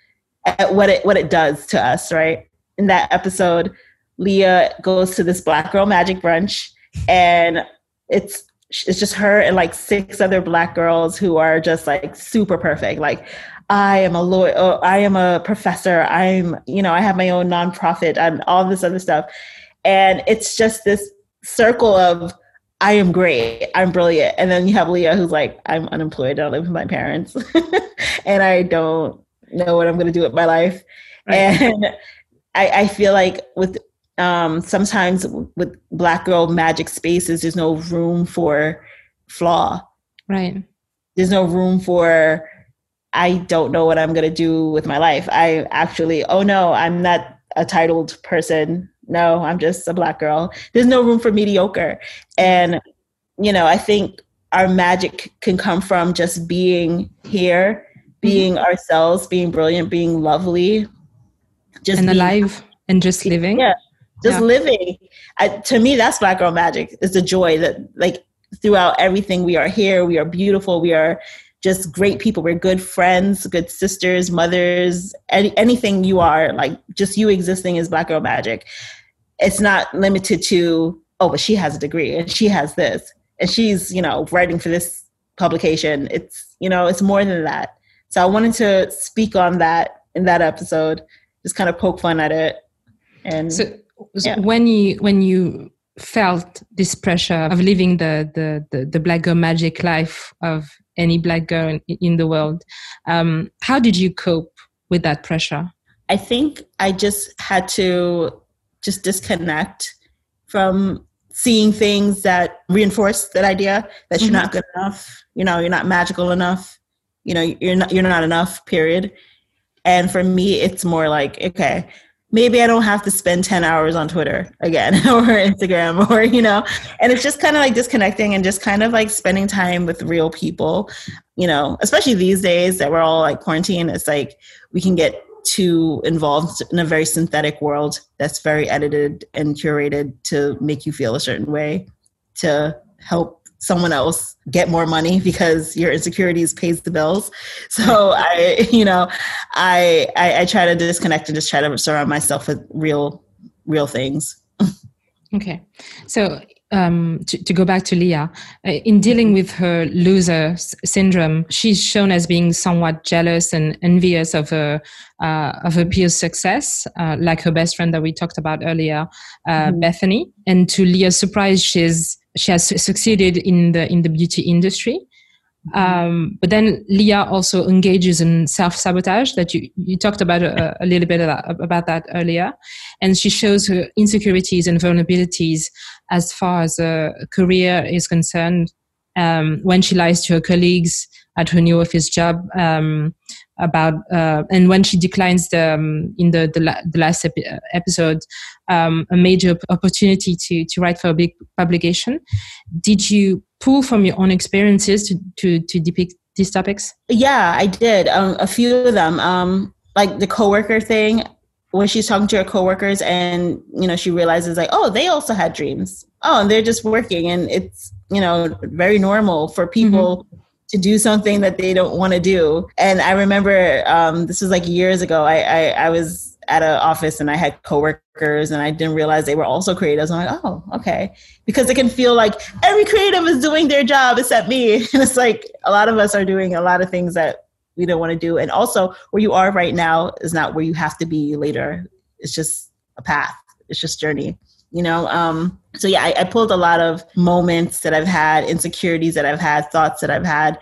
Speaker 2: what it does to us, right? In that episode, Leah goes to this Black Girl Magic brunch, and it's just her and like 6 other Black girls who are just like super perfect. Like, I am a lawyer, I am a professor, I have my own nonprofit and all this other stuff. And it's just this circle of, I am great, I'm brilliant. And then you have Leah who's like, I'm unemployed, I don't live with my parents, and I don't know what I'm going to do with my life. Right. And I feel like with sometimes with Black Girl Magic spaces, there's no room for flaw.
Speaker 1: Right.
Speaker 2: There's no room for, I don't know what I'm going to do with my life. I actually, oh no, I'm not a titled person. No, I'm just a Black girl. There's no room for mediocre. And, I think our magic can come from just being here, being ourselves, being brilliant, being lovely.
Speaker 1: Just alive and just living.
Speaker 2: Yeah. just living. To me, that's Black girl magic. It's the joy that like throughout everything, we are here, we are beautiful, we are just great people. We're good friends, good sisters, mothers, anything you are, like just you existing is Black girl magic. It's not limited to, oh, but she has a degree and she has this and she's, writing for this publication. It's, it's more than that. So I wanted to speak on that in that episode, just kind of poke fun at it. And
Speaker 1: so when you felt this pressure of living the Black girl magic life of any Black girl in the world, how did you cope with that pressure?
Speaker 2: I think I just had to just disconnect from seeing things that reinforce that idea that you're not good enough, you're not magical enough, you're not enough, period. And for me, it's more like, okay, maybe I don't have to spend 10 hours on Twitter again or Instagram or, and it's just kind of like disconnecting and just kind of like spending time with real people, especially these days that we're all like quarantined. It's like we can get too involved in a very synthetic world that's very edited and curated to make you feel a certain way, to help someone else get more money because your insecurities pays the bills. So I try to disconnect and just try to surround myself with real things.
Speaker 1: Okay. So to go back to Leah, in dealing with her loser syndrome, she's shown as being somewhat jealous and envious of her peers' success, like her best friend that we talked about earlier, Bethany. And to Leah's surprise, she has succeeded in the beauty industry. But then Leah also engages in self-sabotage that you talked about a little bit about that earlier. And she shows her insecurities and vulnerabilities as far as her career is concerned, when she lies to her colleagues at her new office job and when she declines in the last episode a major opportunity to write for a big publication. Did you pull from your own experiences to depict these topics? Yeah,
Speaker 2: I did. A few of them, like the coworker thing, when she's talking to her coworkers and, she realizes like, oh, they also had dreams. Oh, and they're just working. And it's, very normal for people to do something that they don't want to do. And I remember this was like years ago. I was at an office and I had coworkers and I didn't realize they were also creatives. I'm like, oh, okay. Because it can feel like every creative is doing their job except me. And it's like a lot of us are doing a lot of things that we don't want to do. And also where you are right now is not where you have to be later. It's just a path. It's just journey. So yeah, I pulled a lot of moments that I've had, insecurities that I've had, thoughts that I've had,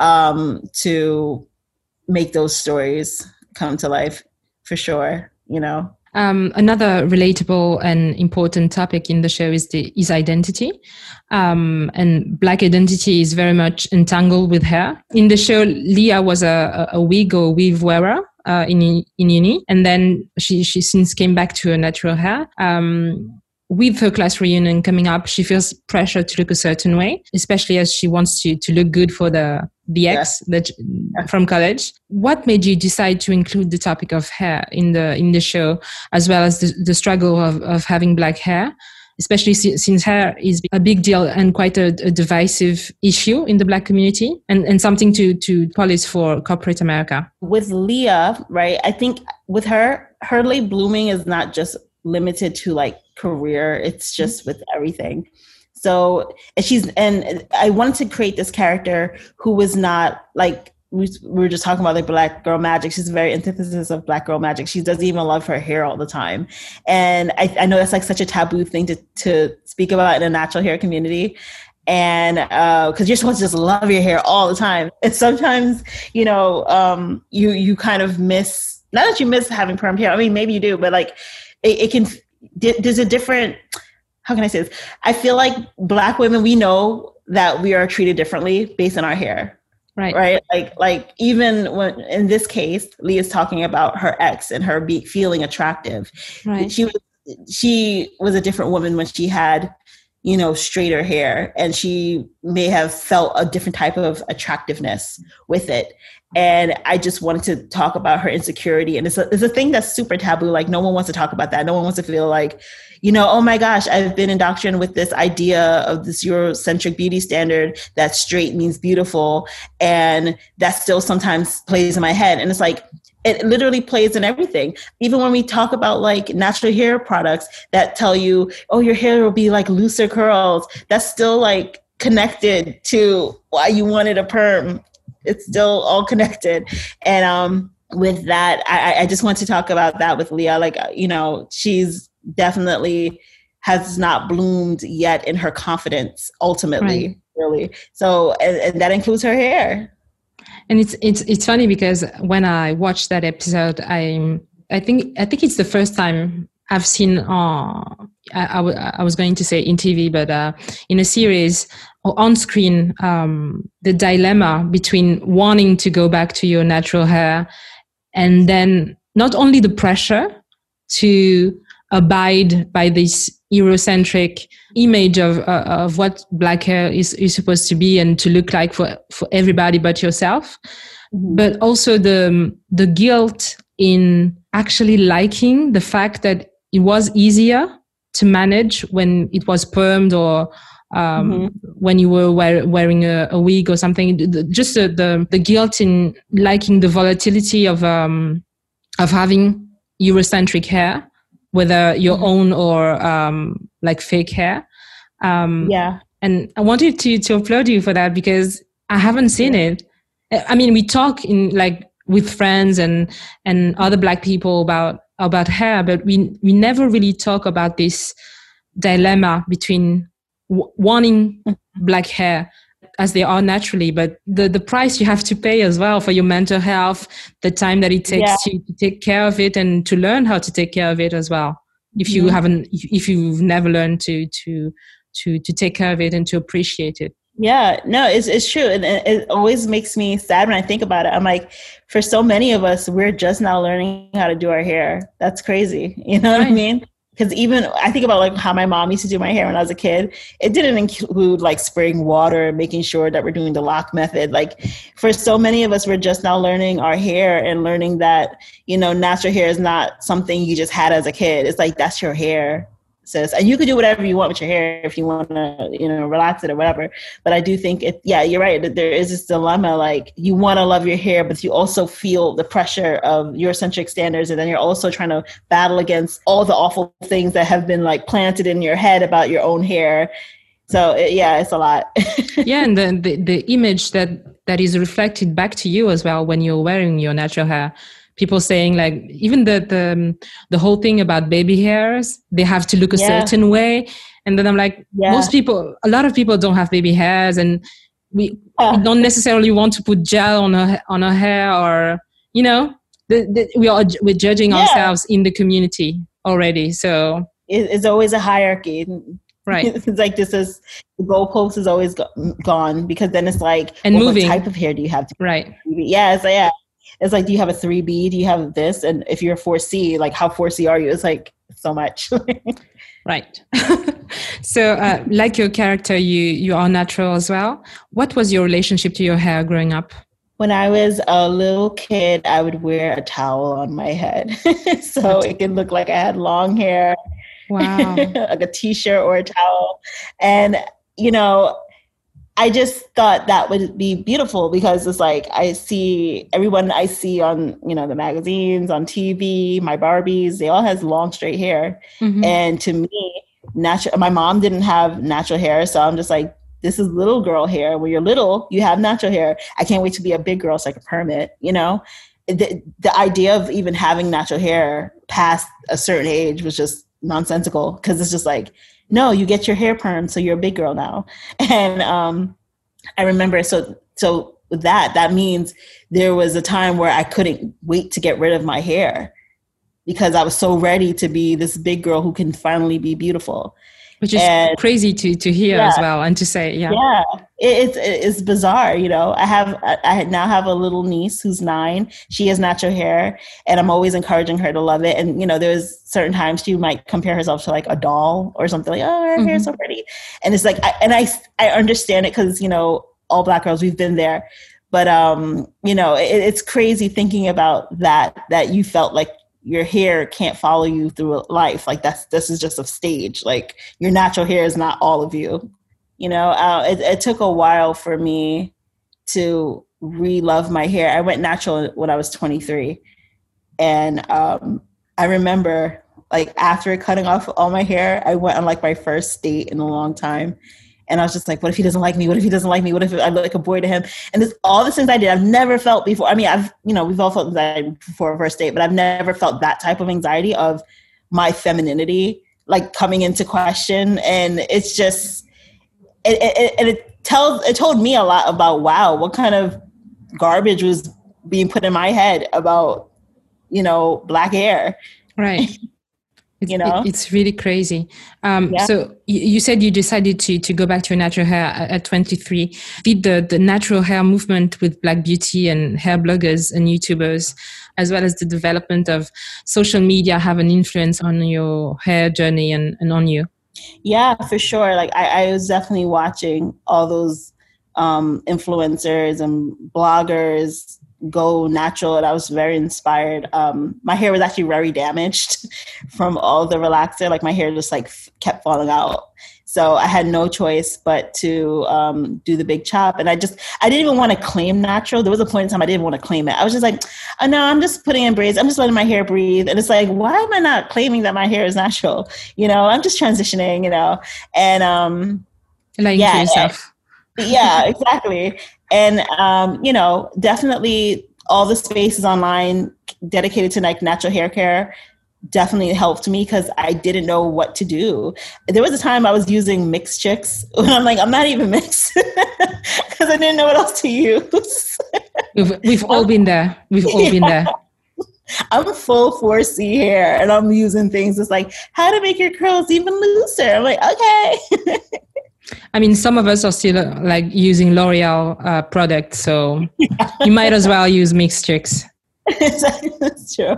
Speaker 2: to make those stories come to life for sure,
Speaker 1: Another relatable and important topic in the show is identity. And Black identity is very much entangled with hair. In the show, Leah was a wig or weave wearer in uni. And then she since came back to her natural hair. With her class reunion coming up, she feels pressure to look a certain way, especially as she wants to look good for the ex from college. What made you decide to include the topic of hair in the show, as well as the struggle of having Black hair, especially since hair is a big deal and quite a divisive issue in the Black community and something to police for corporate America?
Speaker 2: With Leah, right, I think with her late blooming is not just limited to like career, it's just with everything. So and I wanted to create this character who was not like, we were just talking about like Black girl magic. She's a very antithesis of Black girl magic. She doesn't even love her hair all the time. And I know that's like such a taboo thing to speak about in a natural hair community. And because you're supposed to just love your hair all the time. And sometimes, you kind of miss, not that you miss having permed hair. I mean, maybe you do, but like it can, there's a different, how can I say this? I feel like Black women, we know that we are treated differently based on our hair. Right. Like even when in this case, Leah's talking about her ex and her feeling attractive. Right. She was a different woman when she had, straighter hair, and she may have felt a different type of attractiveness with it. And I just wanted to talk about her insecurity. And it's a thing that's super taboo. Like, no one wants to talk about that. No one wants to feel like, oh my gosh, I've been indoctrinated with this idea of this Eurocentric beauty standard that straight means beautiful. And that still sometimes plays in my head. And it's like, it literally plays in everything. Even when we talk about like natural hair products that tell you, oh, your hair will be like looser curls, that's still like connected to why you wanted a perm. It's still all connected. And with that, I just want to talk about that with Leah. Like, she's definitely has not bloomed yet in her confidence, ultimately, right. Really. So, and that includes her hair.
Speaker 1: And it's funny because when I watched that episode, I think it's the first time I've seen, I was going to say in TV, but in a series or on screen, the dilemma between wanting to go back to your natural hair and then not only the pressure to abide by this Eurocentric image of what black hair is supposed to be and to look like for everybody but yourself, but also the guilt in actually liking the fact that it was easier to manage when it was permed or when you were wearing a wig or something. Just the guilt in liking the volatility of having Eurocentric hair, whether your own or like fake hair.
Speaker 2: Yeah.
Speaker 1: And I wanted to applaud you for that because I haven't seen it. I mean, we talk in like with friends and other black people about hair, but we never really talk about this dilemma between wanting black hair as they are naturally, but the price you have to pay as well for your mental health, the time that it takes to take care of it and to learn how to take care of it as well. If you if you've never learned to take care of it and to appreciate it.
Speaker 2: Yeah, no, it's true. And it always makes me sad when I think about it. I'm like, for so many of us, we're just now learning how to do our hair. That's crazy. You know what I mean? Because even I think about like how my mom used to do my hair when I was a kid. It didn't include like spraying water and making sure that we're doing the lock method. Like for so many of us, we're just now learning our hair and learning that, natural hair is not something you just had as a kid. It's like, that's your hair. Sis. And you can do whatever you want with your hair if you want to, relax it or whatever. But I do think you're right. That there is this dilemma, like you want to love your hair, but you also feel the pressure of Eurocentric standards. And then you're also trying to battle against all the awful things that have been like planted in your head about your own hair. So it's a lot.
Speaker 1: Yeah. And the image that is reflected back to you as well when you're wearing your natural hair. People saying like even the whole thing about baby hairs, they have to look a certain way. And then I'm like, a lot of people don't have baby hairs, and we don't necessarily want to put gel on our hair, or we're judging ourselves in the community already. So
Speaker 2: it's always a hierarchy.
Speaker 1: Right.
Speaker 2: It's like the goalpost is always gone, because then it's like,
Speaker 1: and moving.
Speaker 2: What type of hair do you have?
Speaker 1: Right.
Speaker 2: It's like, do you have a 3B? Do you have this? And if you're 4C, like how 4C are you? It's like so much.
Speaker 1: Right. So like your character, you are natural as well. What was your relationship to your hair growing up?
Speaker 2: When I was a little kid, I would wear a towel on my head. So it could look like I had long hair.
Speaker 1: Wow.
Speaker 2: Like a t-shirt or a towel. And, I just thought that would be beautiful, because it's like I see everyone I see on, the magazines, on TV, my Barbies, they all has long straight hair. Mm-hmm. And to me, my mom didn't have natural hair. So I'm just like, this is little girl hair. When you're little, you have natural hair. I can't wait to be a big girl so I can perm it, The idea of even having natural hair past a certain age was just nonsensical, because it's just like, no, you get your hair permed, so you're a big girl now. And I remember, so with that means there was a time where I couldn't wait to get rid of my hair, because I was so ready to be this big girl who can finally be beautiful.
Speaker 1: Which is crazy to hear as well, and to say,
Speaker 2: yeah, it's bizarre. I now have a little niece who's 9. She has natural hair, and I'm always encouraging her to love it. And there's certain times she might compare herself to like a doll or something, like, oh, her hair's so pretty. And it's like, I understand it, because all Black girls, we've been there. But it's crazy thinking about that you felt like your hair can't follow you through life. Like this is just a stage. Like your natural hair is not all of you. It took a while for me to re-love my hair. I went natural when I was 23. And I remember, like, after cutting off all my hair, I went on like my first date in a long time. And I was just like, what if he doesn't like me? What if he doesn't like me? What if I look like a boy to him? And all the things I did, I've never felt before. I mean, we've all felt anxiety before a first date, but I've never felt that type of anxiety of my femininity, like, coming into question. And it's just, it told me a lot about, wow, what kind of garbage was being put in my head about, Black hair.
Speaker 1: Right. It's really crazy. So you said you decided to go back to your natural hair at 23. Did the natural hair movement with Black beauty and hair bloggers and YouTubers, as well as the development of social media, have an influence on your hair journey and on you?
Speaker 2: Yeah, for sure. Like I was definitely watching all those influencers and bloggers go natural, and I was very inspired. My hair was actually very damaged from all the relaxer. Like my hair just like kept falling out. So I had no choice but to do the big chop. And I didn't even want to claim natural. There was a point in time I didn't want to claim it. I was just like, oh no, I'm just putting in braids. I'm just letting my hair breathe. And it's like, why am I not claiming that my hair is natural? I'm just transitioning, and
Speaker 1: lying to yourself.
Speaker 2: Yeah, exactly. And, definitely all the spaces online dedicated to like natural hair care definitely helped me, because I didn't know what to do. There was a time I was using Mixed Chicks, and I'm like, I'm not even mixed, because I didn't know what else to use.
Speaker 1: We've all been there. We've all been there.
Speaker 2: I'm full 4C hair, and I'm using things that's like, how to make your curls even looser. I'm like, okay.
Speaker 1: I mean, some of us are still like using L'Oreal products, so you might as well use Mixed Chicks.
Speaker 2: That's true.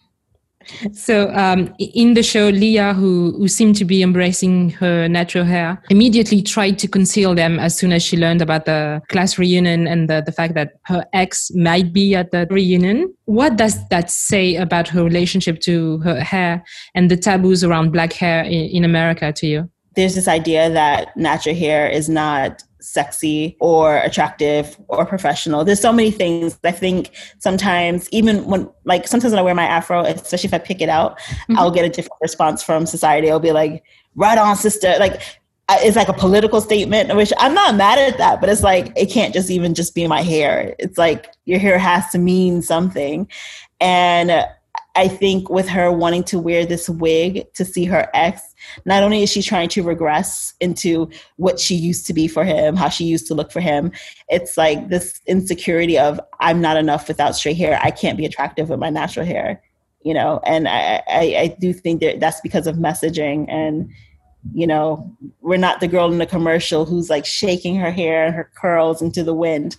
Speaker 1: So in the show, Leah, who seemed to be embracing her natural hair, immediately tried to conceal them as soon as she learned about the class reunion and the fact that her ex might be at the reunion. What does that say about her relationship to her hair and the taboos around Black hair in America to you?
Speaker 2: There's this idea that natural hair is not sexy or attractive or professional. There's so many things. I think sometimes, even sometimes when I wear my afro, especially if I pick it out, I'll get a different response from society. I'll be like, right on, sister. Like, it's like a political statement, which I'm not mad at that, but it's like, it can't just be my hair. It's like, your hair has to mean something. And I think with her wanting to wear this wig to see her ex, not only is she trying to regress into what she used to be for him, how she used to look for him, it's like this insecurity of, I'm not enough without straight hair. I can't be attractive with my natural hair, and I do think that's because of messaging. And, we're not the girl in the commercial who's like shaking her hair and her curls into the wind,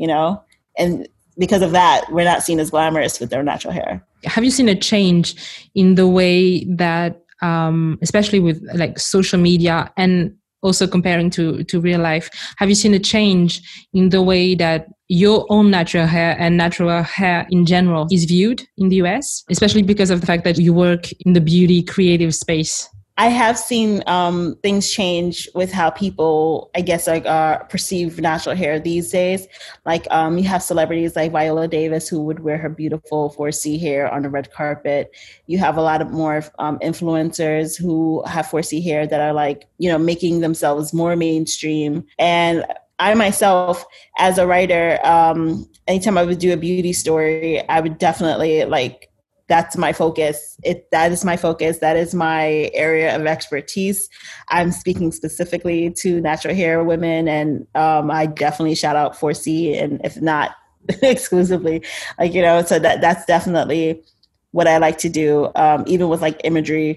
Speaker 2: and because of that, we're not seen as glamorous with their natural hair.
Speaker 1: Have you seen a change in the way that, especially with like social media and also comparing to real life, have you seen a change in the way that your own natural hair and natural hair in general is viewed in the US, especially because of the fact that you work in the beauty creative space?
Speaker 2: I have seen things change with how people, I guess, perceive natural hair these days. Like you have celebrities like Viola Davis, who would wear her beautiful 4C hair on the red carpet. You have a lot of more influencers who have 4C hair that are like, making themselves more mainstream. And I myself, as a writer, anytime I would do a beauty story, I would definitely that's my focus. That is my focus. That is my area of expertise. I'm speaking specifically to natural hair women, and I definitely shout out 4C, and if not exclusively, so that's definitely what I like to do. Even with like imagery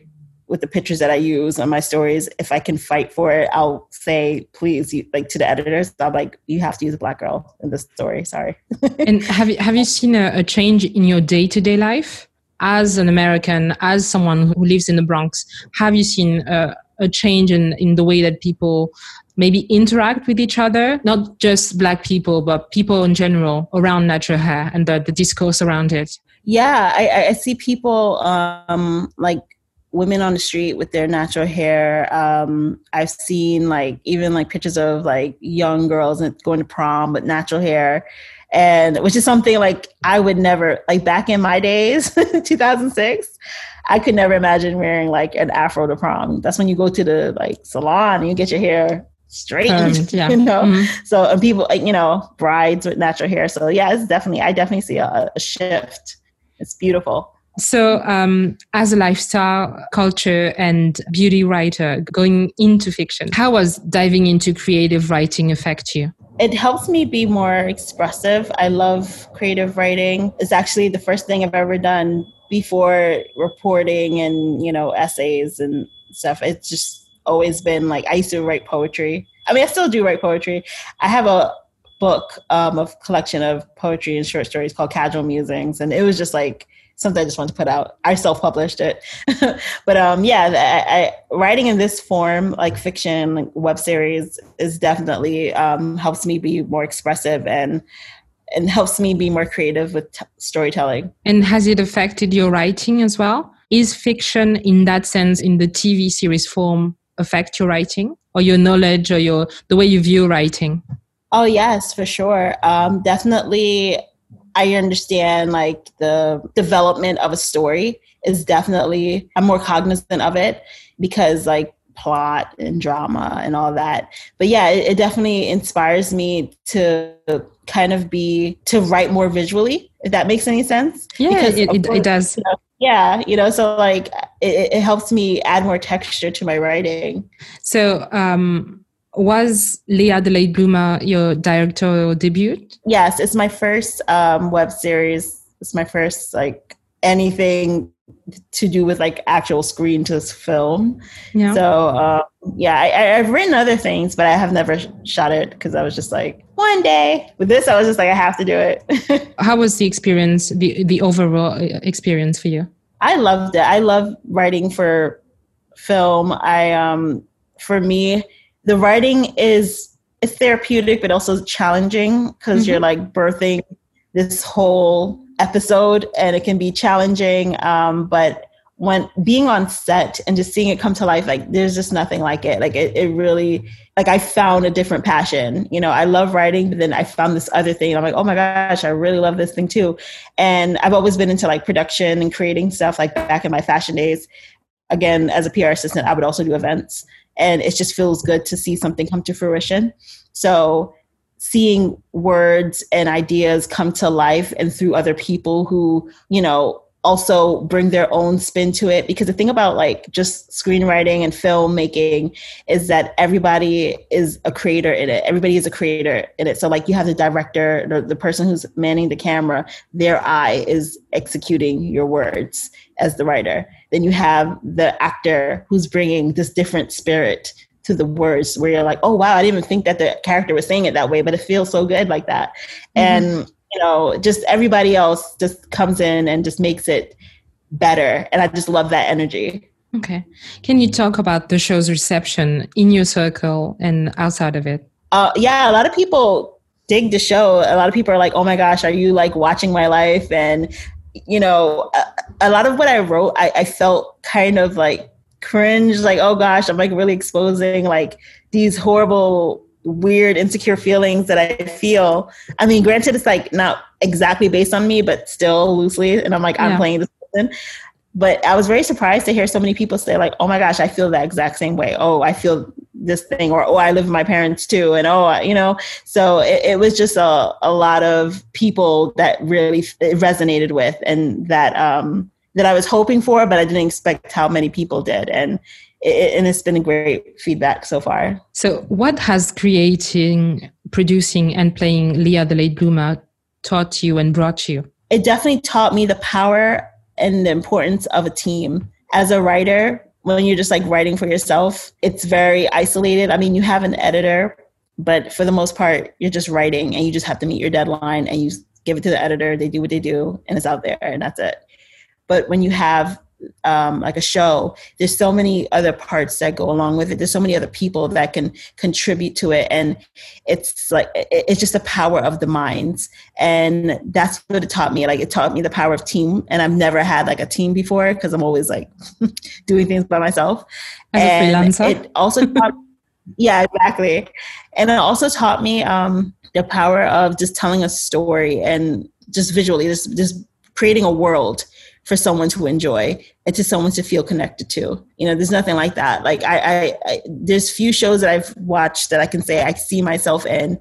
Speaker 2: with the pictures that I use on my stories, if I can fight for it, I'll say, please, like to the editors, I'm like, you have to use a Black girl in this story. Sorry.
Speaker 1: And have you seen a change in your day-to-day life as an American, as someone who lives in the Bronx? Have you seen a change in the way that people maybe interact with each other, not just Black people, but people in general around natural hair and the discourse around it?
Speaker 2: Yeah, I see people like women on the street with their natural hair. I've seen like even like pictures of like young girls going to prom with natural hair, and which is something like I would never, like back in my days, 2006, I could never imagine wearing like an afro to prom. That's when you go to the like salon and you get your hair straightened,
Speaker 1: yeah.
Speaker 2: you know? Mm-hmm. So, and people, like, you know, brides with natural hair. So yeah, it's definitely, I definitely see a shift. It's beautiful.
Speaker 1: So as a lifestyle, culture and beauty writer going into fiction, how was diving into creative writing affect you?
Speaker 2: It helps me be more expressive. I love creative writing. It's actually the first thing I've ever done before reporting and, you know, essays and stuff. It's just always been like, I used to write poetry. I mean, I still do write poetry. I have a book of collection of poetry and short stories called Casual Musings. And it was just like something I just wanted to put out. I self-published it. But I writing in this form, like fiction, like web series, is definitely helps me be more expressive and helps me be more creative with storytelling.
Speaker 1: And has it affected your writing as well? Is fiction in that sense, in the TV series form, affect your writing or your knowledge or the way you view writing?
Speaker 2: Oh, yes, for sure. Definitely, I understand like the development of a story is definitely, I'm more cognizant of it because like plot and drama and all that. But yeah, it definitely inspires me to kind of to write more visually, if that makes any sense.
Speaker 1: Yeah, because it does.
Speaker 2: You know, yeah, you know, so like it helps me add more texture to my writing.
Speaker 1: So, was Leah the Late Bloomer your directorial debut?
Speaker 2: Yes, it's my first web series. It's my first like anything to do with like actual screen to film. Yeah. So I've written other things, but I have never shot it because I was just like, one day. With this, I was just like, I have to do it.
Speaker 1: How was the experience, the overall experience for you?
Speaker 2: I loved it. I love writing for film. For me, the writing it's therapeutic, but also challenging because you're like birthing this whole episode and it can be challenging. But when being on set and just seeing it come to life, like there's just nothing like it. Like it really, like I found a different passion. You know, I love writing, but then I found this other thing. And I'm like, oh my gosh, I really love this thing too. And I've always been into like production and creating stuff. Like back in my fashion days, again, as a PR assistant, I would also do events. And it just feels good to see something come to fruition. So seeing words and ideas come to life and through other people who, you know, also bring their own spin to it. Because the thing about like just screenwriting and filmmaking is that everybody is a creator in it. Everybody is a creator in it. So like you have the director, the person who's manning the camera, their eye is executing your words as the writer. Then you have the actor who's bringing this different spirit to the words where you're like, oh, wow, I didn't even think that the character was saying it that way, but it feels so good like that. And, you know, just everybody else just comes in and just makes it better. And I just love that energy.
Speaker 1: Okay. Can you talk about the show's reception in your circle and outside of it?
Speaker 2: Yeah, a lot of people dig the show. A lot of people are like, oh my gosh, are you like watching my life? And, you know, a lot of what I wrote, I felt kind of like cringe, like, oh gosh, I'm like really exposing like these horrible, weird, insecure feelings that I feel. I mean, granted, it's like not exactly based on me, but still loosely. And I'm like, I'm playing this person. But I was very surprised to hear so many people say like, oh my gosh, I feel that exact same way. Oh, I feel this thing, or, oh, I live with my parents too. And, oh, you know, so it was just a lot of people that really resonated with and that I was hoping for, but I didn't expect how many people did. And it's been a great feedback so far.
Speaker 1: So what has creating, producing and playing Leah the Late Bloomer taught you and brought you?
Speaker 2: It definitely taught me the power and the importance of a team. As a writer, when you're just like writing for yourself, it's very isolated. I mean, you have an editor, but for the most part, you're just writing and you just have to meet your deadline and you give it to the editor. They do what they do and it's out there and that's it. But when you have like a show, there's so many other parts that go along with it. There's so many other people that can contribute to it. And it's like, it's just the power of the minds. And that's what it taught me. Like it taught me the power of team. And I've never had like a team before because I'm always like doing things by myself.
Speaker 1: As a freelancer?
Speaker 2: It also taught, yeah, exactly. And it also taught me the power of just telling a story and just visually, just creating a world for someone to enjoy and to someone to feel connected to. You know, there's nothing like that. Like I there's few shows that I've watched that I can say I see myself in,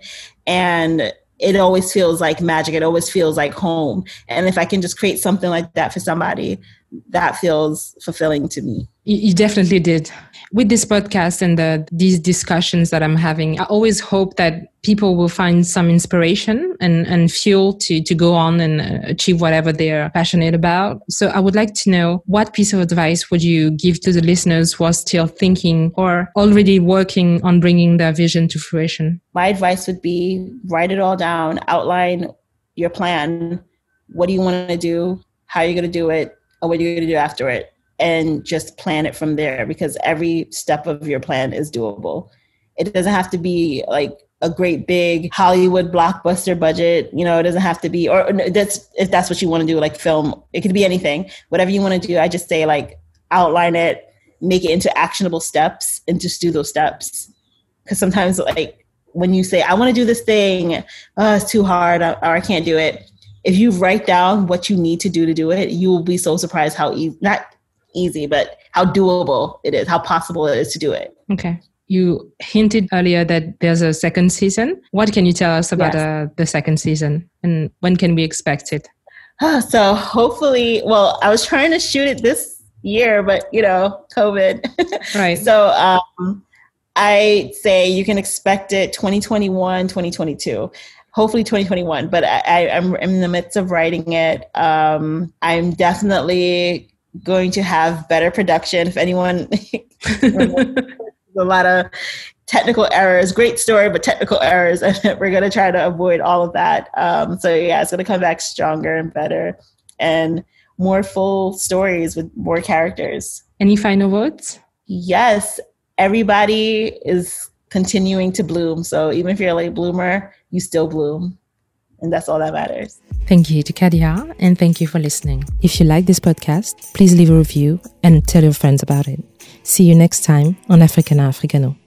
Speaker 2: and it always feels like magic. It always feels like home. And if I can just create something like that for somebody, that feels fulfilling to me.
Speaker 1: You definitely did. With this podcast and these discussions that I'm having, I always hope that people will find some inspiration and fuel to go on and achieve whatever they're passionate about. So I would like to know, what piece of advice would you give to the listeners who are still thinking or already working on bringing their vision to fruition?
Speaker 2: My advice would be write it all down, outline your plan. What do you want to do? How are you going to do it? Or what are you going to do after it? And just plan it from there, because every step of your plan is doable. It doesn't have to be like a great big Hollywood blockbuster budget. You know, it doesn't have to be, or that's, if that's what you want to do, like film, it could be anything, whatever you want to do. I just say like, outline it, make it into actionable steps and just do those steps. Because sometimes like when you say, I want to do this thing, it's too hard or I can't do it. If you write down what you need to do it, you will be so surprised how not easy, but how doable it is, how possible it is to do it.
Speaker 1: Okay. You hinted earlier that there's a second season. What can you tell us about the second season, and when can we expect it?
Speaker 2: So hopefully, well, I was trying to shoot it this year, but you know, COVID.
Speaker 1: Right.
Speaker 2: So I say you can expect it 2021, 2022. Hopefully 2021, but I'm in the midst of writing it. I'm definitely going to have better production. If anyone, a lot of technical errors, great story, but technical errors. And we're going to try to avoid all of that. So yeah, it's going to come back stronger and better and more full stories with more characters.
Speaker 1: Any final words?
Speaker 2: Yes. Everybody is continuing to bloom. So even if you're a late bloomer, you still bloom. And that's all that matters.
Speaker 1: Thank you to Kadia, and thank you for listening. If you like this podcast, please leave a review and tell your friends about it. See you next time on Africana Africano.